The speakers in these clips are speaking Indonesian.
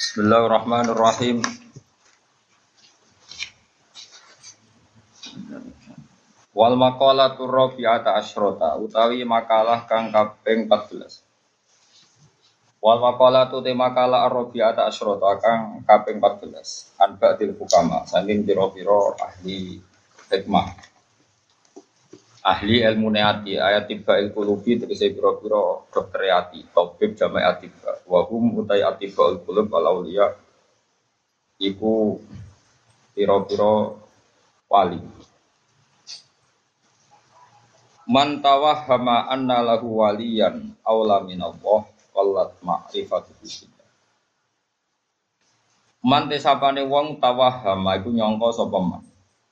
Bismillahirrahmanirrahim. Wal maqalatu rabi'ata asyrota utawi makalah kang kaping 14. Wal maqalatu te makalah rabi'ata asyrota kang kaping 14. Anba'dil hukama saking pira-pira ahli hikmah. Ahli ilmu neati ayat tiba ilkulubi tegese pira-pira dokter ati tabib jama'i atiba wa hum utai atiba ilkulub al auliya iku pira-pira wali. Man tawahhama anna lahu waliyan aula minallah wallat ma'rifatuhu billah. Man tesapane wong tawahhama iku nyangka sapa man.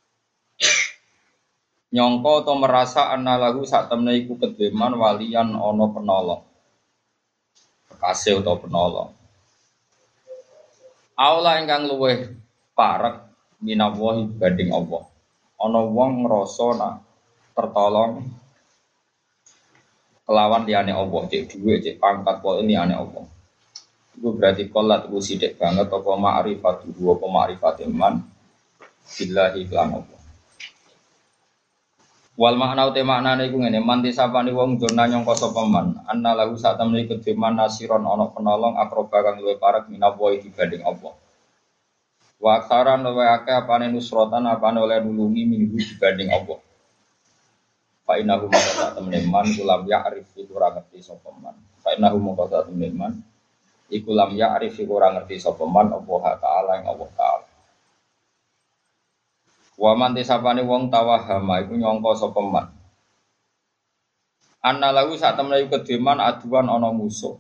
Nyangka atau merasa anna lahu sak temne iku kedhe man waliyan ana penolong. Kekasih utawa penolong. Aula ingkang luweh parek minallahi banding Allah. Ana wong ngrasa nak tertolong kelawan liyane Allah, cek dhuwit, cek pangkat kok ini ane Allah. Itu berarti qolat ku sithik banget apa ma'rifatuhu apa ma'rifate man billahi lan Allah. Wal makna ute maknane iku ngene, man disapani wong jona nyangka sapa man, anna lahu sak temne kedhe man nasiron ana penolong akroba kang luwih parek minallahi dibanding Allah. Wa aksaran luwih akeh apane nusrotan apane oleh nulungi minggu dibanding Allah. Fa innahu maqata teman kulam ya'rif iku ora ngerti sapa man. Fa innahu maqata teman iku lam ya'rif iku ora ngerti sapa man Allah taala ing Allah taala. Wa man tisapane wong tawahama iku nyangka sapa man. Anna lahu sak temne iku kedeman aduan ana musuh.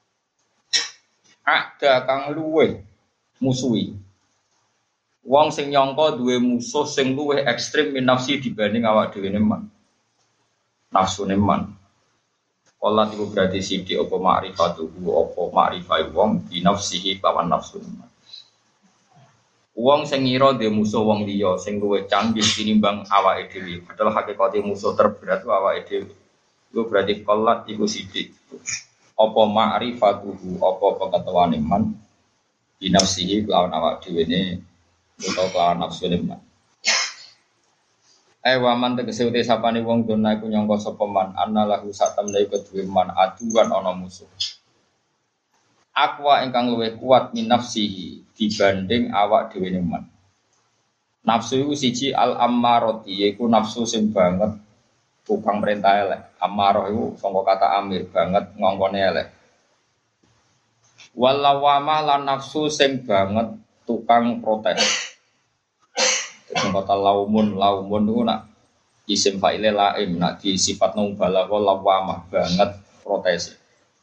Ada kang luweh musuhi. Wong sing nyangka duwe musuh sing luweh ekstrem min nafsi dibanding awak dhewe man. Nafsu neman. Qolat iku berarti sithik apa ma'rifatuhu apa ma'rifai wong bi nafsihi lawan nafsu neman. Wong sing ngira dhe musuh wong liya sing luwih canggih tinimbang awake dhewe. Padahal hakikate musuh terberat awake dhewe. Iku berarti qolat iku sithik. Apa ma'rifatuhu apa pengetahuan neman bi nafsihi lawan awake dhewe ne utawa lawan nafsu neman. Waman tegese uti sapane wong dona iku nyangka sapa man annalahu satamne iku duwe man aduan ana musuh. Aqwa ingkang luwih kuat min nafsihi dibanding awak dhewe man. Nafsu iku siji al ammarati yaiku nafsu sing banget tukang perintah elek. Ammarah iku saka kata amir banget ngongkone elek. Walawama lan nafsu sing banget tukang protes. Kata laumun itu nak isim fa'ile laim nak di sifat balagha lawamah banget protes.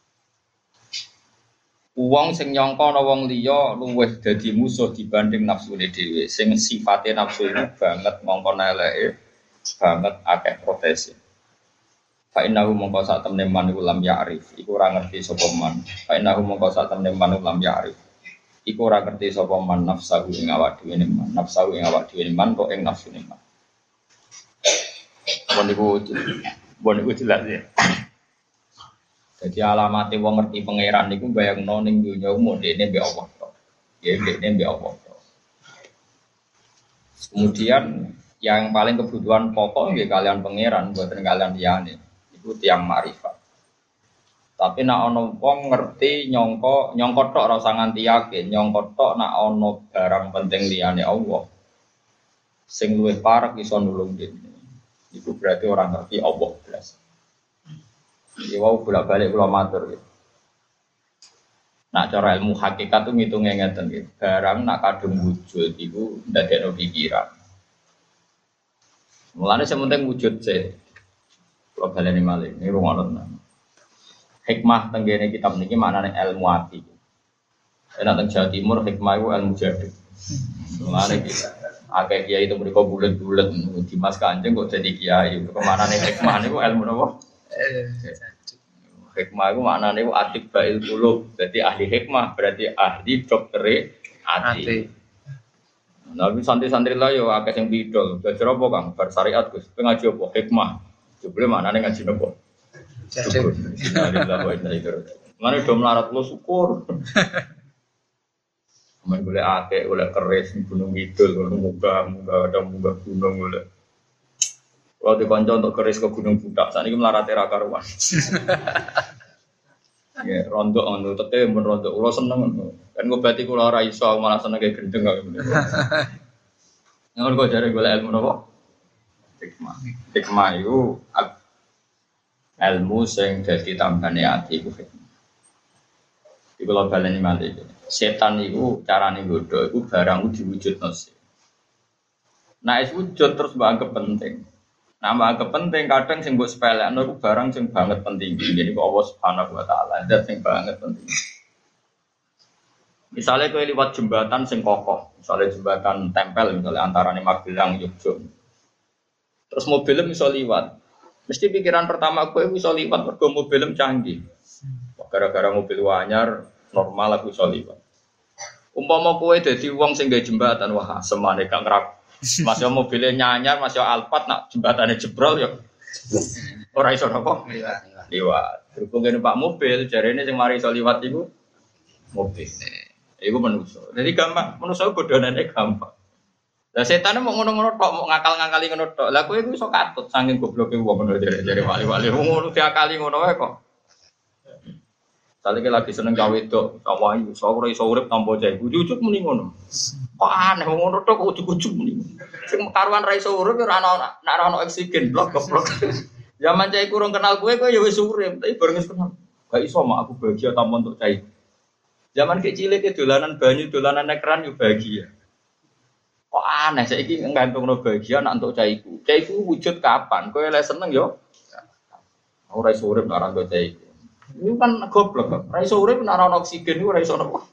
Wong sing nyangka ana wong liya luwih dadi musuh dibanding nafsune dhewe sing sifate nafsu itu banget ngongkon eleke banget akeh protes. Fa innahu mongko sak temne man iku lam ya'rif iku ora ngerti sapa man. Fa innahu mongko sak temne man lam ya'rif iku ora ngerti sapa man nafsahu ing awak dhewe man, nafsahu ing awak dhewe man kok ing nafsune man. Bon iku jelas ya. Jadi alamate wong ngerti pangeran niku bayangno ning donya umum dene mbek Allah tok. Ya dene mbek Allah tok. Kemudian yang paling kebutuhan pokok nggih kalian pangeran mboten kalian liyane. Iku tiyang makrifat. Tapi nak ono wong ngerti nyongko tok ora usah nganti yakin, nyongko tok nak ono barang penting liyane Allah. Sing luwih parek iso nulung dene. Iku berarti orang ngerti Allah blas. Iki wau bolak-balik kula matur gitu. Nak cara ilmu hakikat tuh ngitunge ngeten gitu. Barang nak kadung wujud iku ndadekno pikiran. Mulane sementing wujud sih. Kula baleni malih niku ngono. Hikmah tenggene kitab niki maknane ilmu ati. Nek teng Jawa Timur hikmah iku ilmu jadi. Mulane iki akeh kiai itu mriko bulet-bulet Dimas Kanjeng kok dadi kiai. Kemanane hikmah niku ilmu napa? Hikmah iku maknane iku atibbail qulub. Dadi ahli hikmah berarti ahli doktere ati. Nah, santri-santri lah yo akeh sing bidol. Belajar apa, Kang? Bar syariat Gus. Ngaji apa? Hikmah. Jebule maknane ngaji napa? Syukur. Alhamdulillah wa inna ilaihi raji'un. Mane do melarat lu syukur. Main boleh akeh, boleh keris di Gunung Kidul, boleh munggah gunung boleh. Kalau dikonco untuk keris ke Gunung Budak, saat ini melarat era karuan. Ya, rontok anu, tete men rontok. Kulo seneng kan ngobati kulo ora iso malah seneng kayak gendeng kok. Yang kok jare golek ilmu napa? Hikmah. Hikmah itu ilmu sing dadi tambane ati iku hikmah. Iku lho baleni malih. Setan iku carane godho iku barang diwujudno sih. Nah, es wujud terus mbok penting. Nama kepenting kadang sing mbok sepelekno iku barang sing banget penting. Jadi kok Allah Subhanahu wa taala zat sing banget penting. Misalnya kowe liwat jembatan sing kokoh, misalnya jembatan tempel misalnya antarané Magelang Yogyakarta. Terus mobilnya bisa liwat. Mesti pikiran pertama kowe bisa liwat mergo mobilnya canggih. Gara-gara mobil anyar normal aku bisa liwat. Umpama kowe dadi wong sing gawe jembatan, wah semane gak ngerap. Masih mobilnya nyanyar, masih Alphard, nak jembatannya jebrol ya. Orang iso apa? Liwat. Berhubung ini Pak mobil, jari ini yang mari iso liwat itu mobil. Itu manusia. Jadi gampang, manusia bodohannya gampang. Lah setan mau ngono-ngono tok, mau ngakal-ngakali ngono tok. Lah kowe iku iso katut saking gobloke wong ngono jare wali-wali. Ngono diakali ngono wae kok. Salike lagi seneng gawe wedok, sama ayu, ora iso urip tanpa cah. Ujug-ujug muni ngono. Kok aneh ngono tok ujug-ujug muni. Sing karuan ra iso urip ora ana oksigen blok. Zaman cah kurang kenal kowe ya wis urip, tapi bareng wis kenal. Gak iso mak aku bahagia tanpa untuk cah. Zaman kecil iki dolanan banyu, dolanan ekran yo bahagia. Kok aneh saiki ngantungno bahagia nak untuk cah iku. Cah iku wujud kapan? Kowe lek seneng yo ora iso urip nek ora nggo cah iku. Ini kan goblok, ora iso urip nek ora oksigen iku ora iso napa.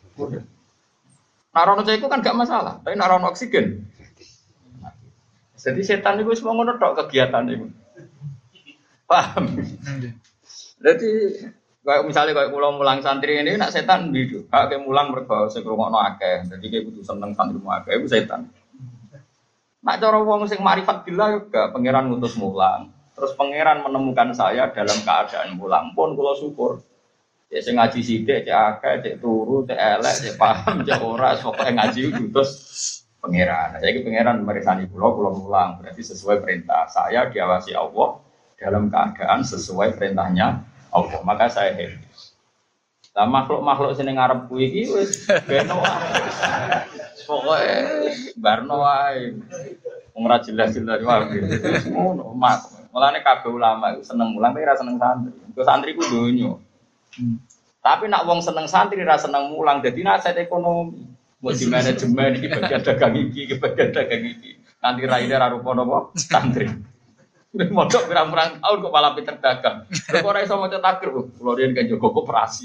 Nek ora itu kan gak masalah, tapi nek ora oksigen. Jadi setan itu semua ngono tok kegiatan itu. Paham? Jadi kayak misalnya kayak kula mulang santri ini nak setan bidu, kayak mulang mergo sing ngrungokno akeh. Jadi kayak kudu seneng santri akeh iku setan. Nak cara wong sing makrifat billah juga pangeran ngutus mulang. Terus pangeran menemukan saya dalam keadaan mulang pun kula syukur. Cek sing ngaji sithik, cek akeh, cek turu, cek elek, cek paham, cek ora, pokoke ngaji terus pangeran. Saiki pangeran meresani kula mulang, berarti sesuai perintah. Saya diawasi Allah dalam keadaan sesuai perintahnya Allah. Maka saya happy. Lah makhluk-makhluk sing ngarep kuwi iki wis beno wae. Pokoke barno wae. Wong ora jelas-jelas wae. Ngono, mulane kabeh ulama iku seneng mulang tapi ora seneng santri. Kok santri ku donya. Tapi nak wong seneng santri ora seneng mulang dadi nasihat ekonomi. Mbok di manajemen iki bagian dagang iki, bagian dagang iki. Nanti raine ra rupa napa santri. Mondok pirang-pirang tahun kok malah pinter dagang. Kok ora iso maca takbir, kula riyen kan jaga koperasi.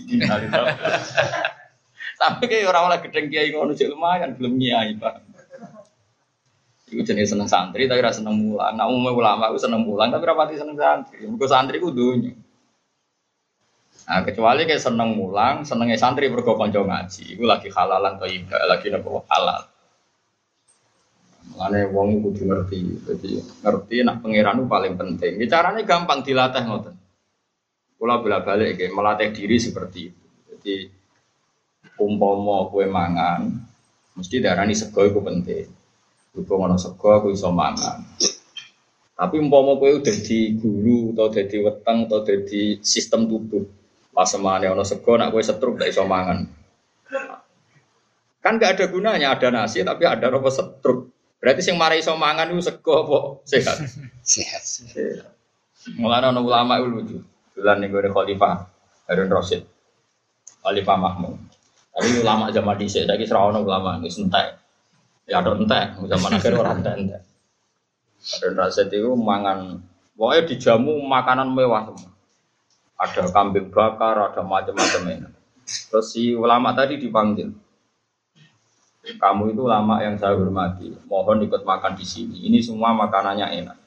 Tapi kayak orang oleh gedeng kiai ngono jek lumayan belum nyai, Pak. Iku jenis seneng santri tapi ora seneng mulang. Nak umum ulama iku seneng mulang tapi ora pati seneng santri. Mergo santri ku donya. Nah, kecuali kayak seneng mulang, senenge santri mergo kanca ngaji. Iku lagi halalan to ibadah, lagi napa halal. Mulane wong kudu ngerti. Jadi ngerti nak pangeran itu paling penting. Ya carane gampang dilatih ngoten. Kula bolak-balik nggih melatih diri seperti itu. Jadi umpama kowe mangan mesti darani sego iku penting. Berhubung ana sego aku iso mangan. Tapi umpama kowe dadi guru atau dadi weteng atau dadi sistem tubuh, pas semane ana sego nek kowe setruk gak iso mangan. Kan gak ada gunanya ada nasi tapi ada apa setruk. Berarti sing mari iso mangan iku sego apa sehat? Sehat. Mulane ana ulama iku lucu. Dolan ning gone Khalifah Harun Rasyid. Khalifah Mahmud. Tapi ulama zaman dhisik saiki ora ono ulama wis entek. Ya ada entek, zaman akhir ora entek. Harun Rasyid itu mangan, pokoknya dijamu makanan mewah semua. Ada kambing bakar, ada macam-macam. Terus si ulama tadi dipanggil. Kamu itu ulama yang saya hormati, mohon ikut makan di sini. Ini semua makanannya enak.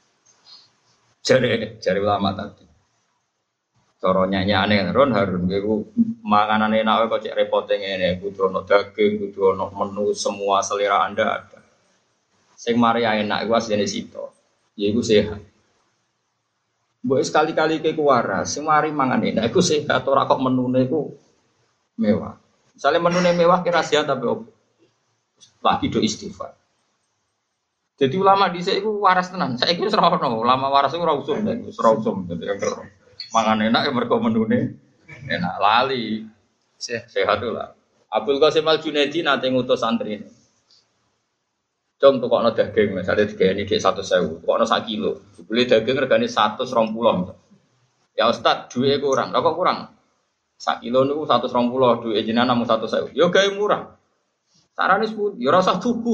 Jari ulama tadi. Coronya aneh, Harun itu makanan enak kok cek repotnya ini. Kudu ono daging, kudu ono menu semua selera Anda ada. Sing Maria enak iku asline sito. Ya iku sehat. Mbok sekali-kali ke waras, sing mari mangan enak iku sehat ora kok menune iku mewah. Misalnya menune mewah kira sia tapi opo? Lagi do istighfar. Jadi ulama dhisik iku waras tenan. Saiki wis ora ono, ulama waras iku ora usum, ora usum dadi yang mangan enak ya mergo menune enak lali. Sehat lah. Abdul Qasim Al Junaidi nate ngutus santri ini. Cung tukokno daging, misalnya digayani dhek 100.000, tukokno 1 kilo. Beli daging regane 120. Ya Ustaz, duwe kurang. Lah kok kurang? 1 kilo niku 120, duwe jenengan namung 100.000. Ya gawe murah. Carane sepundi? Ya ora usah tuku.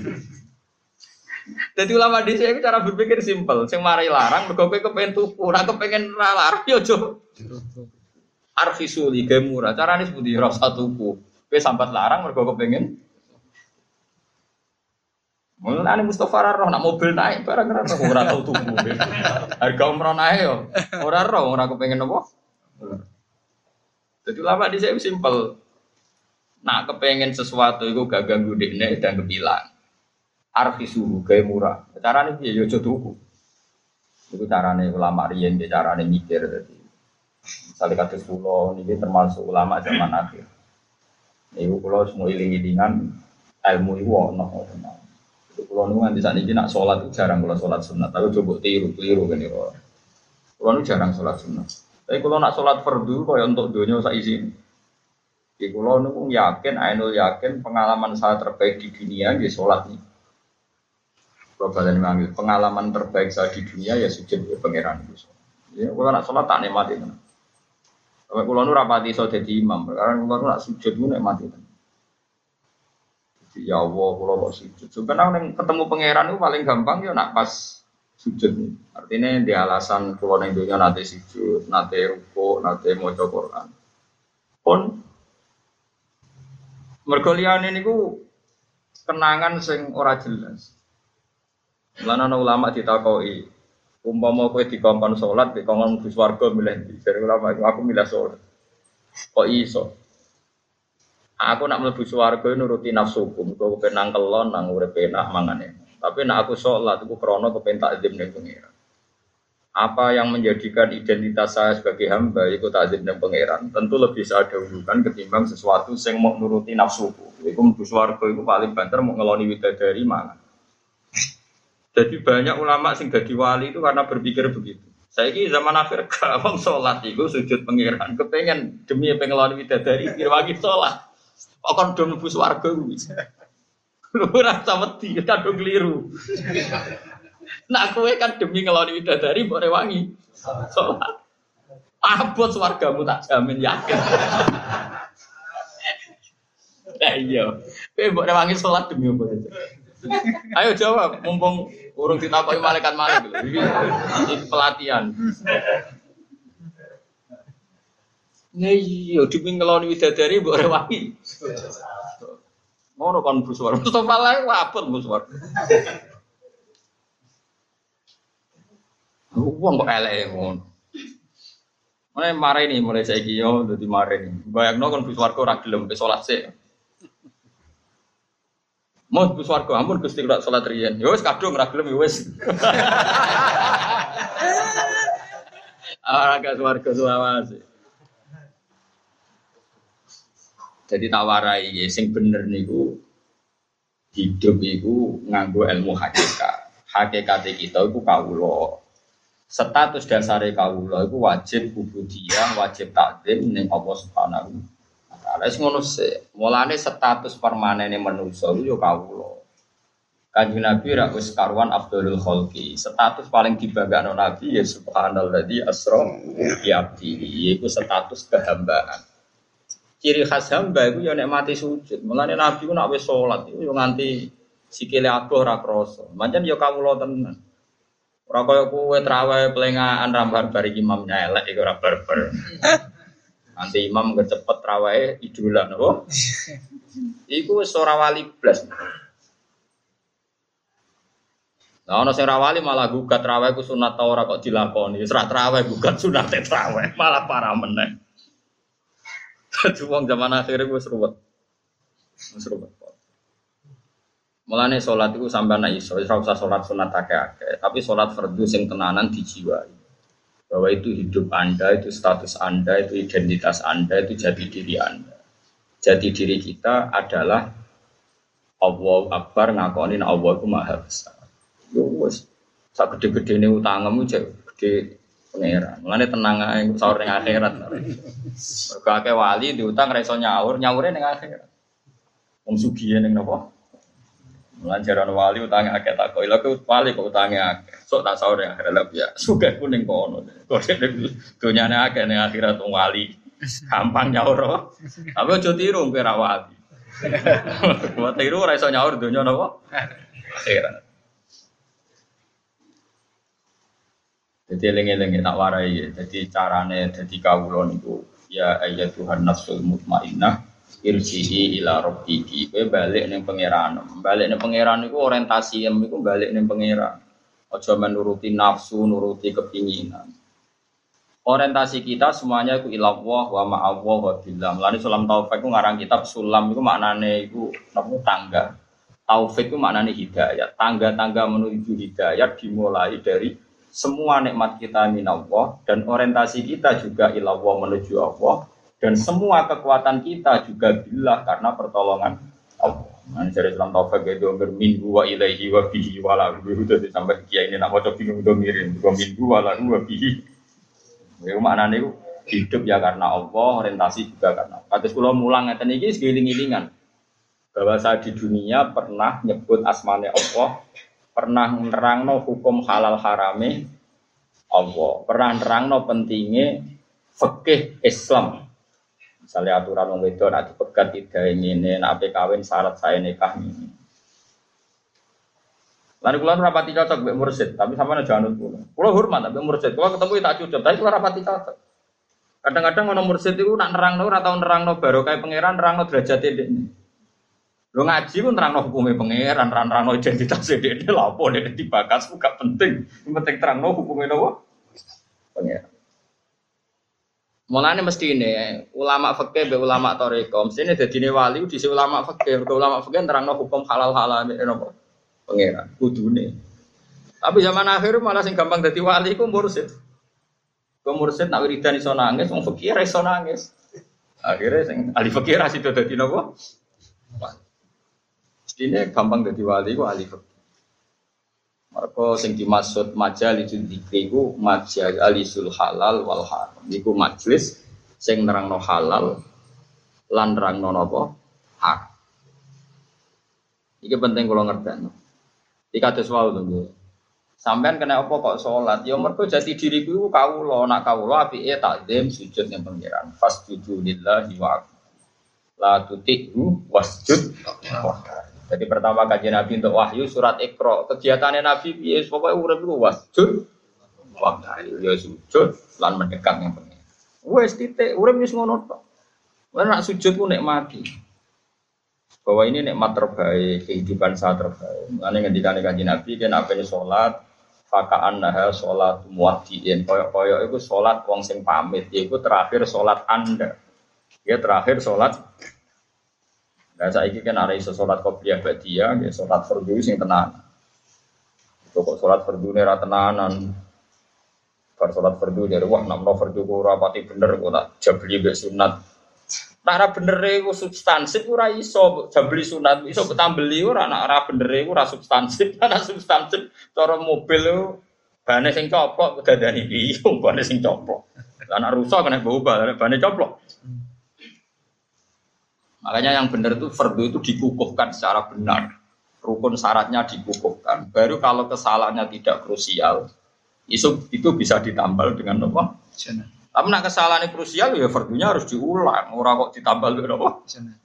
Jadi ulama dhisik iku cara berpikir simpel, sing mari larang mergo kowe kepengin tuku, ora kepengin ra larang ya aja. Arfisuli gawe murah. Carane sepundi? Ya ora usah tuku. Kowe sambat larang mergo kepengin. Mulane Mustofa ora roh nak mobil naik barang ora tau tuku. Harga umroh naik yo. Ora roh, ora kepengin apa? Jadi lama di saya simpel. Nak kepengen sesuatu itu gak ganggu dekne dan kepilang. Arfi suhu gawe murah. Carane piye yo aja tuku. Iku carane ulama riyen, carane mikir dadi. Misale kados kula niki termasuk ulama zaman akhir. Niku kula semua iling-ilingan ilmu iku ono. Kulo nu nganti sakniki nak salat jarang kula salat sunat, tapi coba tiru-tiru kene kok. Kulo nu jarang salat sunat. Tapi kulo nak salat fardu kaya untuk donya sak isine. Iki kulo nu yakin, ainul yakin pengalaman saya terbaik di dunia nggih salat iki. Kulo balen manggil pengalaman terbaik saya di dunia ya sujud ke pangeran Gusti. Ya kulo nak salat tak nikmati tenan. Sampai kulo nu rapati iso dadi imam, karena kulo nu nak sujud ku nikmati tenan. Ya Allah, kalau kok sujud. Sebenarnya ketemu pangeran itu paling gampang ya nak pas sujud. Artinya di alasan kalau neng dunia nanti sujud, nanti ruko, nanti mau Quran. Pun mergolian ini ku kenangan sing ora jelas. Lan ana ulama ditakoi, umpama kowe dikongkon salat, dikongkon mlebu swarga milih ndi? Jare ulama aku milih salat. Kok iso? Aku nak mlebu swarga nuruti nafsuku, mergo kepen kelon nang urip enak mangane. Tapi nak aku salat iku krana kepen takzim ning pangeran. Apa yang menjadikan identitas saya sebagai hamba iku takzim ning pangeran, tentu lebih saya dahulukan ketimbang sesuatu sing mau nuruti nafsuku. Iku mlebu swarga iku paling banter mau ngeloni widadari mangan. Jadi banyak ulama sing dadi wali itu karena berpikir begitu. Saiki zaman akhir gak wong salat iku sujud pangeran, kepengen demi pengeloni widadari pirwangi salat. Kok kon do mlebu swarga kuwi. Ora samedi kadung kliru. Nak kowe kan demi ngeloni widadari mbok rewangi salat. Abot swargamu tak jamin yakin. Lah iya. Kowe mbok rewangi salat demi apa? Ayo jawab, mumpung urung ditakoki malaikat-malaikat lho. Iki pelatihan. Iya, demi ngeloni widadari mbok rewangi. Ngono kon buswar. Mustofa lae wabot buswar. Wong kok elek ngono. Mulai mare ini mulai saiki yo dadi mare ini. Bayangno kon buswar kok ora gelem pe salat sik. Mau buswar kok ampun Gusti ora salat riyen. Ya wis kadung ora gelem ya wis. Ora gak swarga selawase. Jadi tawarai sing bener niku hidup iku nganggo ilmu hakikat. Hakikat kita iku kawula. Status dasare kawula iku wajib ubudiyah, wajib takzim ning Allah Subhanahu wa taala. Wis ngono sik. Mulane status permanene manusa iku ya kawula. Kanjeng Nabi ra wis karuan Abdul Khalqi. Status paling dibanggakan Nabi ya subhanalladzi asra bi abdihi. Iku status kehambaan. Ciri khas hamba itu ya nek mati sujud. Mulane Nabi ku nek wis salat iku yo nganti sikile adoh ora krasa. Pancen ya kawula tenan. Ora kaya kowe traweh plengaan rambar bari imam elek iku ora barbar. Nanti imam kecepet traweh idolan apa? Iku wis ora wali blas. Nah, ana sing ora wali malah gugat traweh ku sunat ta ora kok dilakoni. Wis ra traweh gugat sunat traweh malah parah meneh. Wong zaman akhir iku wis ruwet. Wis ruwet. Mulane salat iku sampeyan nek iso ora usah salat sunat akeh-akeh, tapi salat fardu sing tenanan dijiwai. Bahwa itu hidup Anda, itu status Anda, itu identitas Anda, itu jati diri Anda. Jati diri kita adalah Allahu Akbar ngakoni Allah itu maha besar. Yo wis sak gede-gedene utangmu jek gede pangeran. Mulane tenang ae sahur ning akhirat. Mergo akeh wali diutang ra iso nyaure ning akhirat. Wong sugih ning napa? Mulane jaran wali utange akeh tak kok. Lha kok wali kok utange akeh. Sok tak sahur ning akhirat ya. Sugih kuning kono. Kok donyane akeh ning akhirat wong wali. Gampang nyaur. Tapi aja tiru kowe ra wali. Kuwi tiru ora iso nyaur donya napa? Akhirat. Jadi eling-eling tak warai. Jadi carane dadi kawula niku ya ayyatuhan nafsul mutmainnah irji'i ila rabbiki. Kowe balik ning pangeran. Balik ning pangeran niku orientasi niku balik ning pangeran. Aja menuruti nafsu, nuruti kepinginan. Orientasi kita semuanya iku ilallah wa ma'allah wa billah. Mulane Sulam Taufik ku ngarang kitab Sulam iku maknane iku napa tangga. Taufik ku maknane hidayah. Tangga-tangga menuju hidayah dimulai dari semua nikmat kita minallah dan orientasi kita juga ilallah menuju Allah dan semua kekuatan kita juga billah karena pertolongan Allah. Nah, dari Sulam Taufik itu berminggu wa ilaihi wa bihi wa lahu itu sampai kiai ini nak maca bingung do mirin minggu wa lahu wa bihi. Itu maknanya itu hidup ya karena Allah, orientasi juga karena Allah. Kados kula mulang ngeten iki segiling-gilingan. Bahwa saya di dunia pernah nyebut asmane Allah, pernah nerangno hukum halal harame Allah, pernah nerangno pentingnya fikih Islam. Misalnya aturan wong wedok nek dipegat idahe ngene, nek kawin syarat saya nikah ngene. Lalu kula rapati cocok mbek mursyid, tapi sampeyan aja anut kula. Kula hormat mbek mursyid, kula ketemu tak cucup, tapi kula rapati cocok. Kadang-kadang ono mursyid iku nak nerangno ora tau nerangno barokah pangeran, nerangno derajate dekne. Lho ngaji ku nerangno hukume pangeran, nerangno identitas dekne lha opo nek dibakas ku gak penting. Sing penting terangno hukume napa? Pangeran. Mulane mestine ulama fikih mbek ulama thariqah, mestine dadine wali dhisik ulama fikih, ulama fikih nerangno hukum halal-halal napa? Pangeran kudune. Tapi zaman akhir malah sing gampang dadi wali ku mursyid. Ku mursyid nak wiridan iso nangis, wong fikih iso nangis. Akhirnya sing ahli fikih ra sido dadi napa? Mestine gampang dadi wali ku ahli fikih. Mergo sing dimaksud majalisul dzikri ku majalisul halal wal haram. Iku majelis sing nerangno halal lan nerangno napa? Haram. Iki penting kula ngerteni. Iki kados wae lho. Sampeyan kena apa kok salat? Ya mergo jati diriku iku kawula, nak kawula apike takzim sujud ning pangeran. Fasjudu lillahi wa la tuti'u wasjud. Jadi pertama kajian Nabi untuk wahyu surat Iqra. Kegiatannya Nabi piye pokoke urip iku wasjud waktu ya sujud lan mendekat ning pangeran. Wis titik urip wis ngono tok. Ora nak sujud ku nikmati. Bahwa ini nikmat terbaik, kehidupan saya terbaik. Mengenai ngendikane Kanjeng Nabi, kan apane salat, fakaan nah salat muwaddiin. Koyok-koyok itu salat wong sing pamit, yaiku terakhir salat Anda. Ya terakhir salat. Nah saiki kan ada iso salat qobliyah ba'diyah, ya salat fardhu sing tenan. Kok salat fardhune ra tenanan. Bar salat fardhu dari wah namno fardhu ora pati bener kok tak jabli mbek sunat. Nek bener iku substansif ora iso jambeli sunat, iso ketambeli ora nek ora bener iku ora substansif. Nek substansif cara mobil iku bane sing coplok kedadani piye, bane sing coplok. Lah nek rusak kena baubal, bane coplok. Makanya yang benar itu fardu itu dikukuhkan secara benar. Rukun syaratnya dikukuhkan. Baru kalau kesalahannya tidak krusial, itu bisa ditambal dengan apa? Tapi nak kesalahan krusial ya fardunya harus diulang. Ora kok ditambal dengan apa?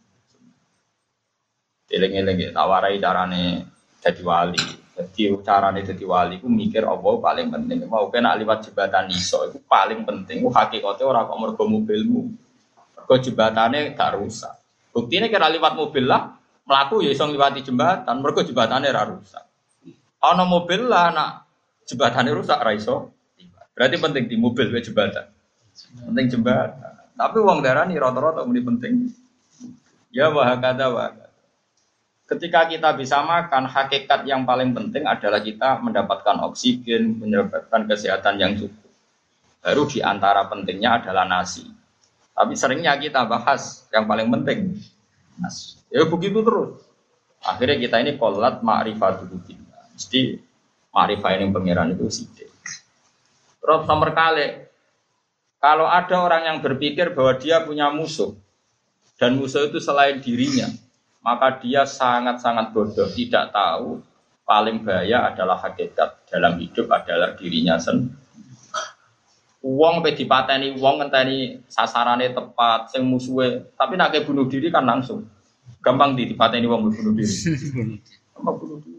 Eling-eling tak warai carane dadi wali. Jadi carane dadi wali ku mikir apa paling penting. Mau kena liwat jembatan iso itu paling penting. Ku hakikate ora kok mergo mobilmu. Mergo jembatane gak rusak. Buktine kira liwat mobil lah, mlaku ya iso ngliwati jembatan. Mergo jembatane ora rusak. Ana mobil lah nak jembatane rusak ra iso. Berarti penting di mobil wae jembatan. Penting jembatan. Tapi wong darani rata-rata muni penting. Ya wahakada wa. Ketika kita bisa makan, hakikat yang paling penting adalah kita mendapatkan oksigen, mendapatkan kesehatan yang cukup. Baru di antara pentingnya adalah nasi. Tapi seringnya kita bahas yang paling penting. Ya begitu terus. Akhirnya kita ini qolat ma'rifatul billah. Mesti ma'rifah ini pangeran itu sithik. Terus nomor kali, kalau ada orang yang berpikir bahwa dia punya musuh dan musuh itu selain dirinya, maka dia sangat-sangat bodoh, tidak tahu paling bahaya adalah hakikat dalam hidup adalah dirinya sendiri. Wong pe dipateni wong ngenteni sasarane tepat sing musuhe, tapi nek bunuh diri kan langsung. Gampang dipateni wong bunuh diri. Gampang bunuh diri.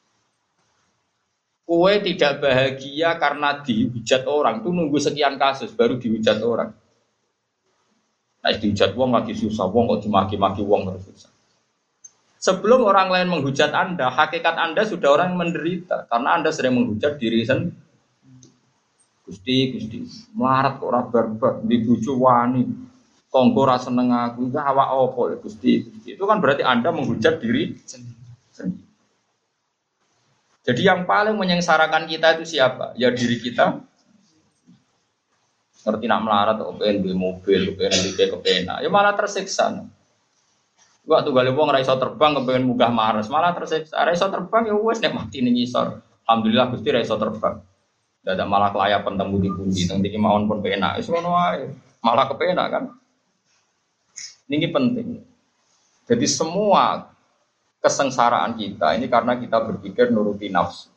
Kowe tidak bahagia karena dihujat orang, itu nunggu sekian kasus baru dihujat orang. Nah, dihujat wong lagi susah, wong kok dimaki-maki wong terus susah. Sebelum orang lain menghujat Anda, hakikat Anda sudah orang menderita karena Anda sering menghujat diri sendiri. Gusti, melarat kok ora barbar, di bojo wani. Tonggo ra seneng aku, iki awak apa ya Gusti? Itu kan berarti Anda menghujat diri sendiri. Jadi yang paling menyengsarakan kita itu siapa? Ya diri kita. Ngerti nak melarat kok pengen duwe mobil, pengen duwe kepenak, ya malah tersiksa. Waktu gale wong ora iso terbang kepengen munggah Mars, malah tersiksa. Ora iso terbang ya wis nek mati ning ngisor. Alhamdulillah Gusti ora iso terbang. Dadak malah kelayapan temu di pundi, teng iki mawon pun penak. Wis ngono wae. Malah kepenak kan. Ini penting. Jadi semua kesengsaraan kita ini karena kita berpikir nuruti nafsu.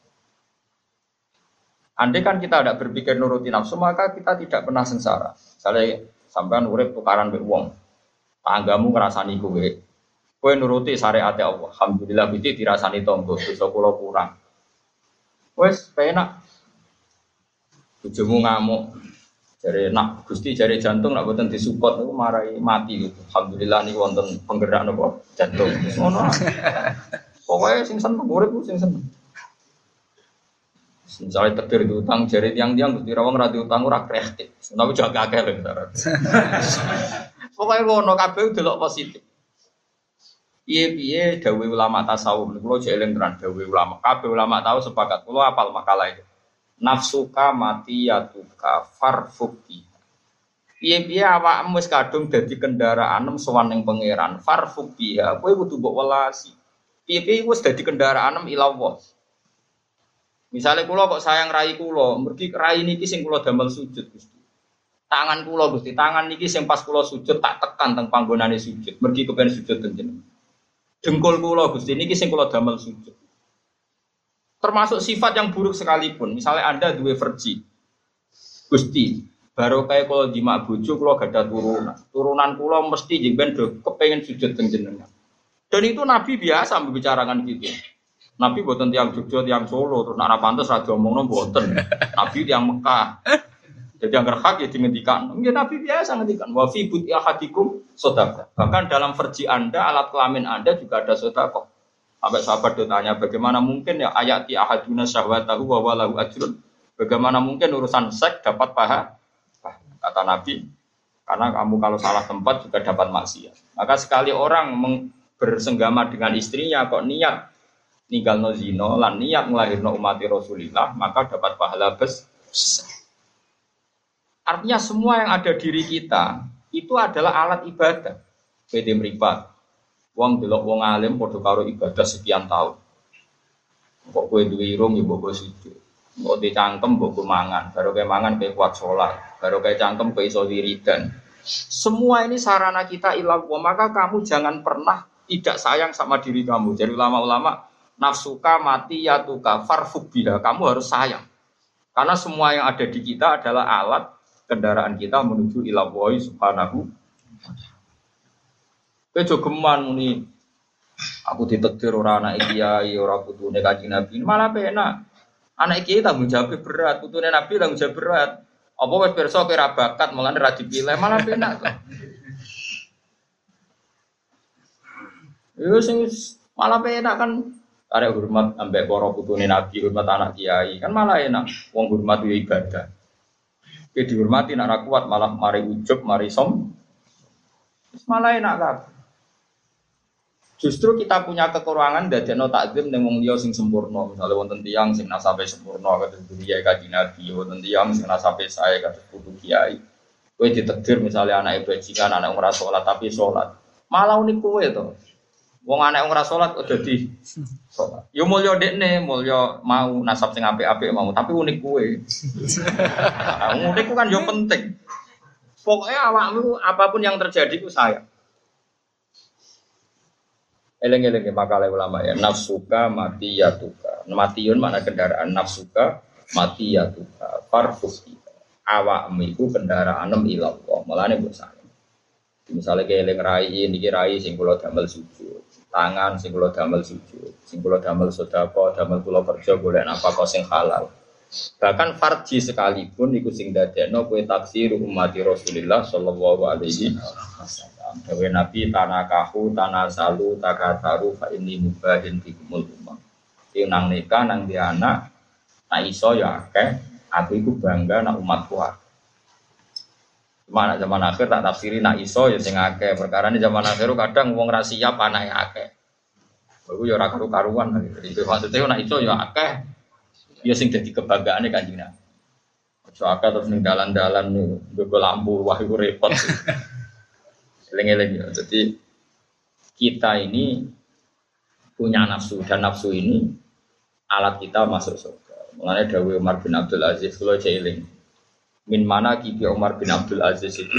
Andai kan kita tidak berpikir nuruti nafsu, maka kita tidak pernah sengsara. Misalnya sampean urip tukaran mbek wong. Tanggamu ngrasani kowe. Kowe nuruti syariat Allah. Alhamdulillah Gusti dirasani tangga, dosa kula kurang. Wes penak. Bojomu ngamuk, jare nak Gusti jare jantung nak boten disupport niku marai mati gitu. Alhamdulillah niku wonten penggerak napa jantung. Ngono. Pokoke sing seneng urip ku sing seneng. Misalnya tegir diutang jare tiang-tiang Gusti rawang ra diutang ora kreatif. Tapi jaga akeh lho. Pokoke ngono kabeh delok positif. Piye-piye dawuh ulama tasawuf niku kula jeling tenan dawuh ulama. Kabeh ulama tahu sepakat. Kula hafal makalah itu. Nafsuka matiyatuka farfuki. Piye-piye awakmu wis kadung dadi kendaraan sowan ning pangeran farfuki. Kowe kudu mbok welasi. Piye-piye wis dadi kendaraan ila Allah. Misale kula kok sayang rai kula, mergi rai niki sing kula damel sujud Gusti. Tangan kula Gusti, tangan niki sing pas kula sujud tak tekan teng panggonane sujud. Mergi kepen sujud teng jenengan. Dengkul kula Gusti niki sing kula damel sujud. Termasuk sifat yang buruk sekalipun. Misalnya Anda duwe verji. Gusti, baru kayak kalau di mak bojo kula gadah turunan. Turunan kula mesti jengben do kepengin sujud teng jenengan. Dan itu Nabi biasa membicarakan gitu. Nabi boten tiang Jogja, tiang Solo, terus nek ora pantes ra diomongno boten. Nabi tiang Mekah. Jadi yang hak ya dingendikan. Ya Nabi biasa ngendikan wa fi buti ahadikum sedekah. Bahkan dalam verji Anda, alat kelamin Anda juga ada sedekah. Sampai sahabat bertanya, bagaimana mungkin ya ayati ahaduna syahwatahu wa walahu ajrun? Bagaimana mungkin urusan seks dapat paha? Kata Nabi, karena kamu kalau salah tempat juga dapat maksiat. Maka sekali orang bersenggama dengan istrinya kok niat ninggalno zina lan niat nglahirno umat Rasulillah, maka dapat pahala besar. Artinya semua yang ada diri kita itu adalah alat ibadah. Beda mripat. Wong delok wong alim padha karo ibadah sekian tahun. Kok kowe duwe irung ya mbok sujud. Kok dicangkem mbok mangan, baru kowe mangan kowe kuat salat, baru kowe cangkem kowe iso wiridan. Semua ini sarana kita ilah, maka kamu jangan pernah tidak sayang sama diri kamu. Jadi ulama-ulama nafsuka mati yatuka farfuk biha, kamu harus sayang. Karena semua yang ada di kita adalah alat kendaraan kita menuju ilah Allah subhanahu. Kowe jogeman muni aku ditakdir ora anak kiai, ora putune Kanjeng Nabi. Malah penak. Anak kiai tanggung jawab berat, putune Nabi tanggung jawab berat. Apa wis pirsa kowe ra bakat mulane ra dipilih, malah penak kok. Yo sing malah penak kan arek hormat ambek para putune Nabi, hormat anak kiai. Kan malah enak. Wong hormat yo ibadah. Kowe dihormati nek ra kuat malah mari ujub, mari som. Malah enak kabeh. Justru kita punya kekurangan dadekno takzim ning wong liya sing sempurna. Misale wonten tiyang sing nasabe sempurna kados Kiai Kanjeng Nabi, wonten tiyang sing nasabe sae kados putu kiai. Kowe ditakdir misalnya anak bajingan, anak ora salat tapi salat. Malah unik kowe to. Wong anak ora salat kok dadi salat. Yo mulya dekne, mulya mau nasab sing apik-apik mau, tapi unik kowe. Unik ku kan yo penting. Pokoknya awakmu apapun yang terjadi ku sayang. Eleng-eleng makalah ulama ya, nafsuka mati ya tuka. Matiun makna kendaraan, nafsuka mati ya tuka. Farfus awakmu iku kendaraanmu ilallah. Mulane mbok sayang. Misalnya kayak eleng rai niki rai sing kula damel sujud. Tangan sing kula damel sujud, sing kula damel sedekah, damel kula kerja golek nafkah sing halal. Bahkan farji sekalipun iku sing dadekno kowe taksir umat Rasulullah sallallahu alaihi wasallam. Dewe Nabi tanakahu tanasalu takataru fa inni mubahin bikumul umam. Iki nang nikah nang di anak, nak iso ya akeh, aku iku bangga nak umatku akeh. Mana zaman akhir tak tafsiri nak iso ya sing akeh. Perkara ini zaman akhir kadang wong ra siap anake akeh. Iku ya ora karu-karuan. Iki maksudnya nak iso ya akeh. Ya sing dadi kebanggaane Kanjeng Nabi. Aja akeh terus ning dalan-dalan nggo lampu wah iku repot. Eling-eling ya. Jadi kita ini punya nafsu dan nafsu ini alat kita masuk surga. Mulane dawuh Umar bin Abdul Aziz kula eling. Min mana kibi Umar bin Abdul Aziz itu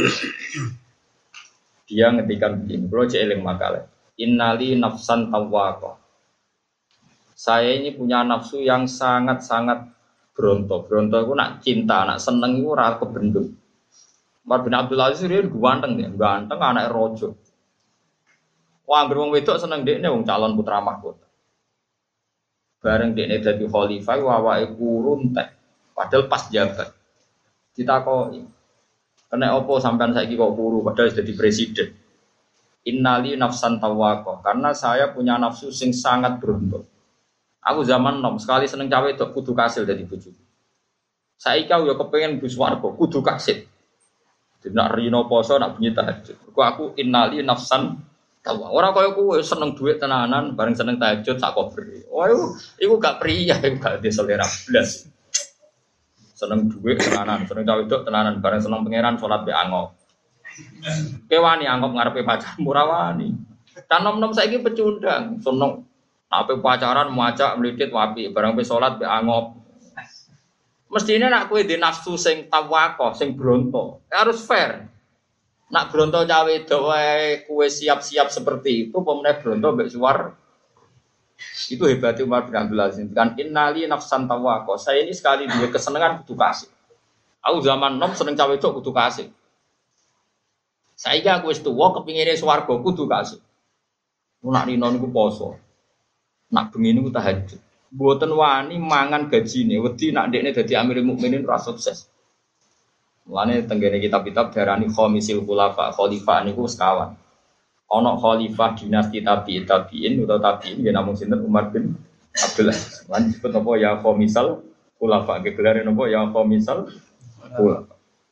dia ngetikan begini, bro eling makalah. Innali nafsan tawwaqah. Saya ini punya nafsu yang sangat-sangat berontok. Berontok itu nak cinta, nak seneng itu ora kebendung. Umar bin Abdul Aziz dia ganteng dia, ganteng anak rojo. Wah, anggere wong wedok seneng dekne wong calon putra mahkota. Bareng dekne dadi khalifah awake kurun teh. Padahal pas jabat. Ditakoki. Kena opo sampean saiki kok kuru padahal jadi presiden. Innali nafsan tawwaqah, karena saya punya nafsu sing sangat berontok. Aku zaman nom sekali seneng cawe itu kudu kasil dari bojo. Saiki aku ya kepengin bus warga kudu kasil. Nak rino poso nak bunyi tahajud. Aku innali nafsan tawwaqah. Ora kaya kowe seneng duit tenanan bareng seneng tahajud sak kober. Oh iku gak pria, iku gak di selera blas. Seneng duit tenanan, seneng cawe itu tenanan bareng seneng pangeran salat be angop. Kewani angop ngarepe pacar murah wani. Kan nom-nom saiki pecundang, seneng apa pacaran muacak melidit wapi barang pe salat be angop. Mestine nak kowe di nafsu sing tawaqah, sing bronto, harus fair. Nak bronto cawe wedok wae kowe siap-siap seperti itu, pemene bronto mbek suwar. Itu hebatnya Umar bin Abdul Aziz. Kan innali nafsan tawaqah. Saya ini sekali duwe kesenengan kudu kasih. Aku zaman nom seneng cawe wedok kudu kasih. Saiki aku wis tuwa kepingine swarga kudu kasih. Nak rino niku poso. Nak bengi niku tahajud. Mboten wani mangan gajine, wedi nak ndekne dadi Amirul Mukminin ora sukses. Mulane tenggene kitab-kitab diarani khamisil khulafa, khalifah niku sekawan. Ana khalifah dinasti tabi'in utawa tabi'in ya namung sinten Umar bin Abdul Aziz. Lan disebut apa ya khamisal khulafa, gelare napa ya khamisal khulafa.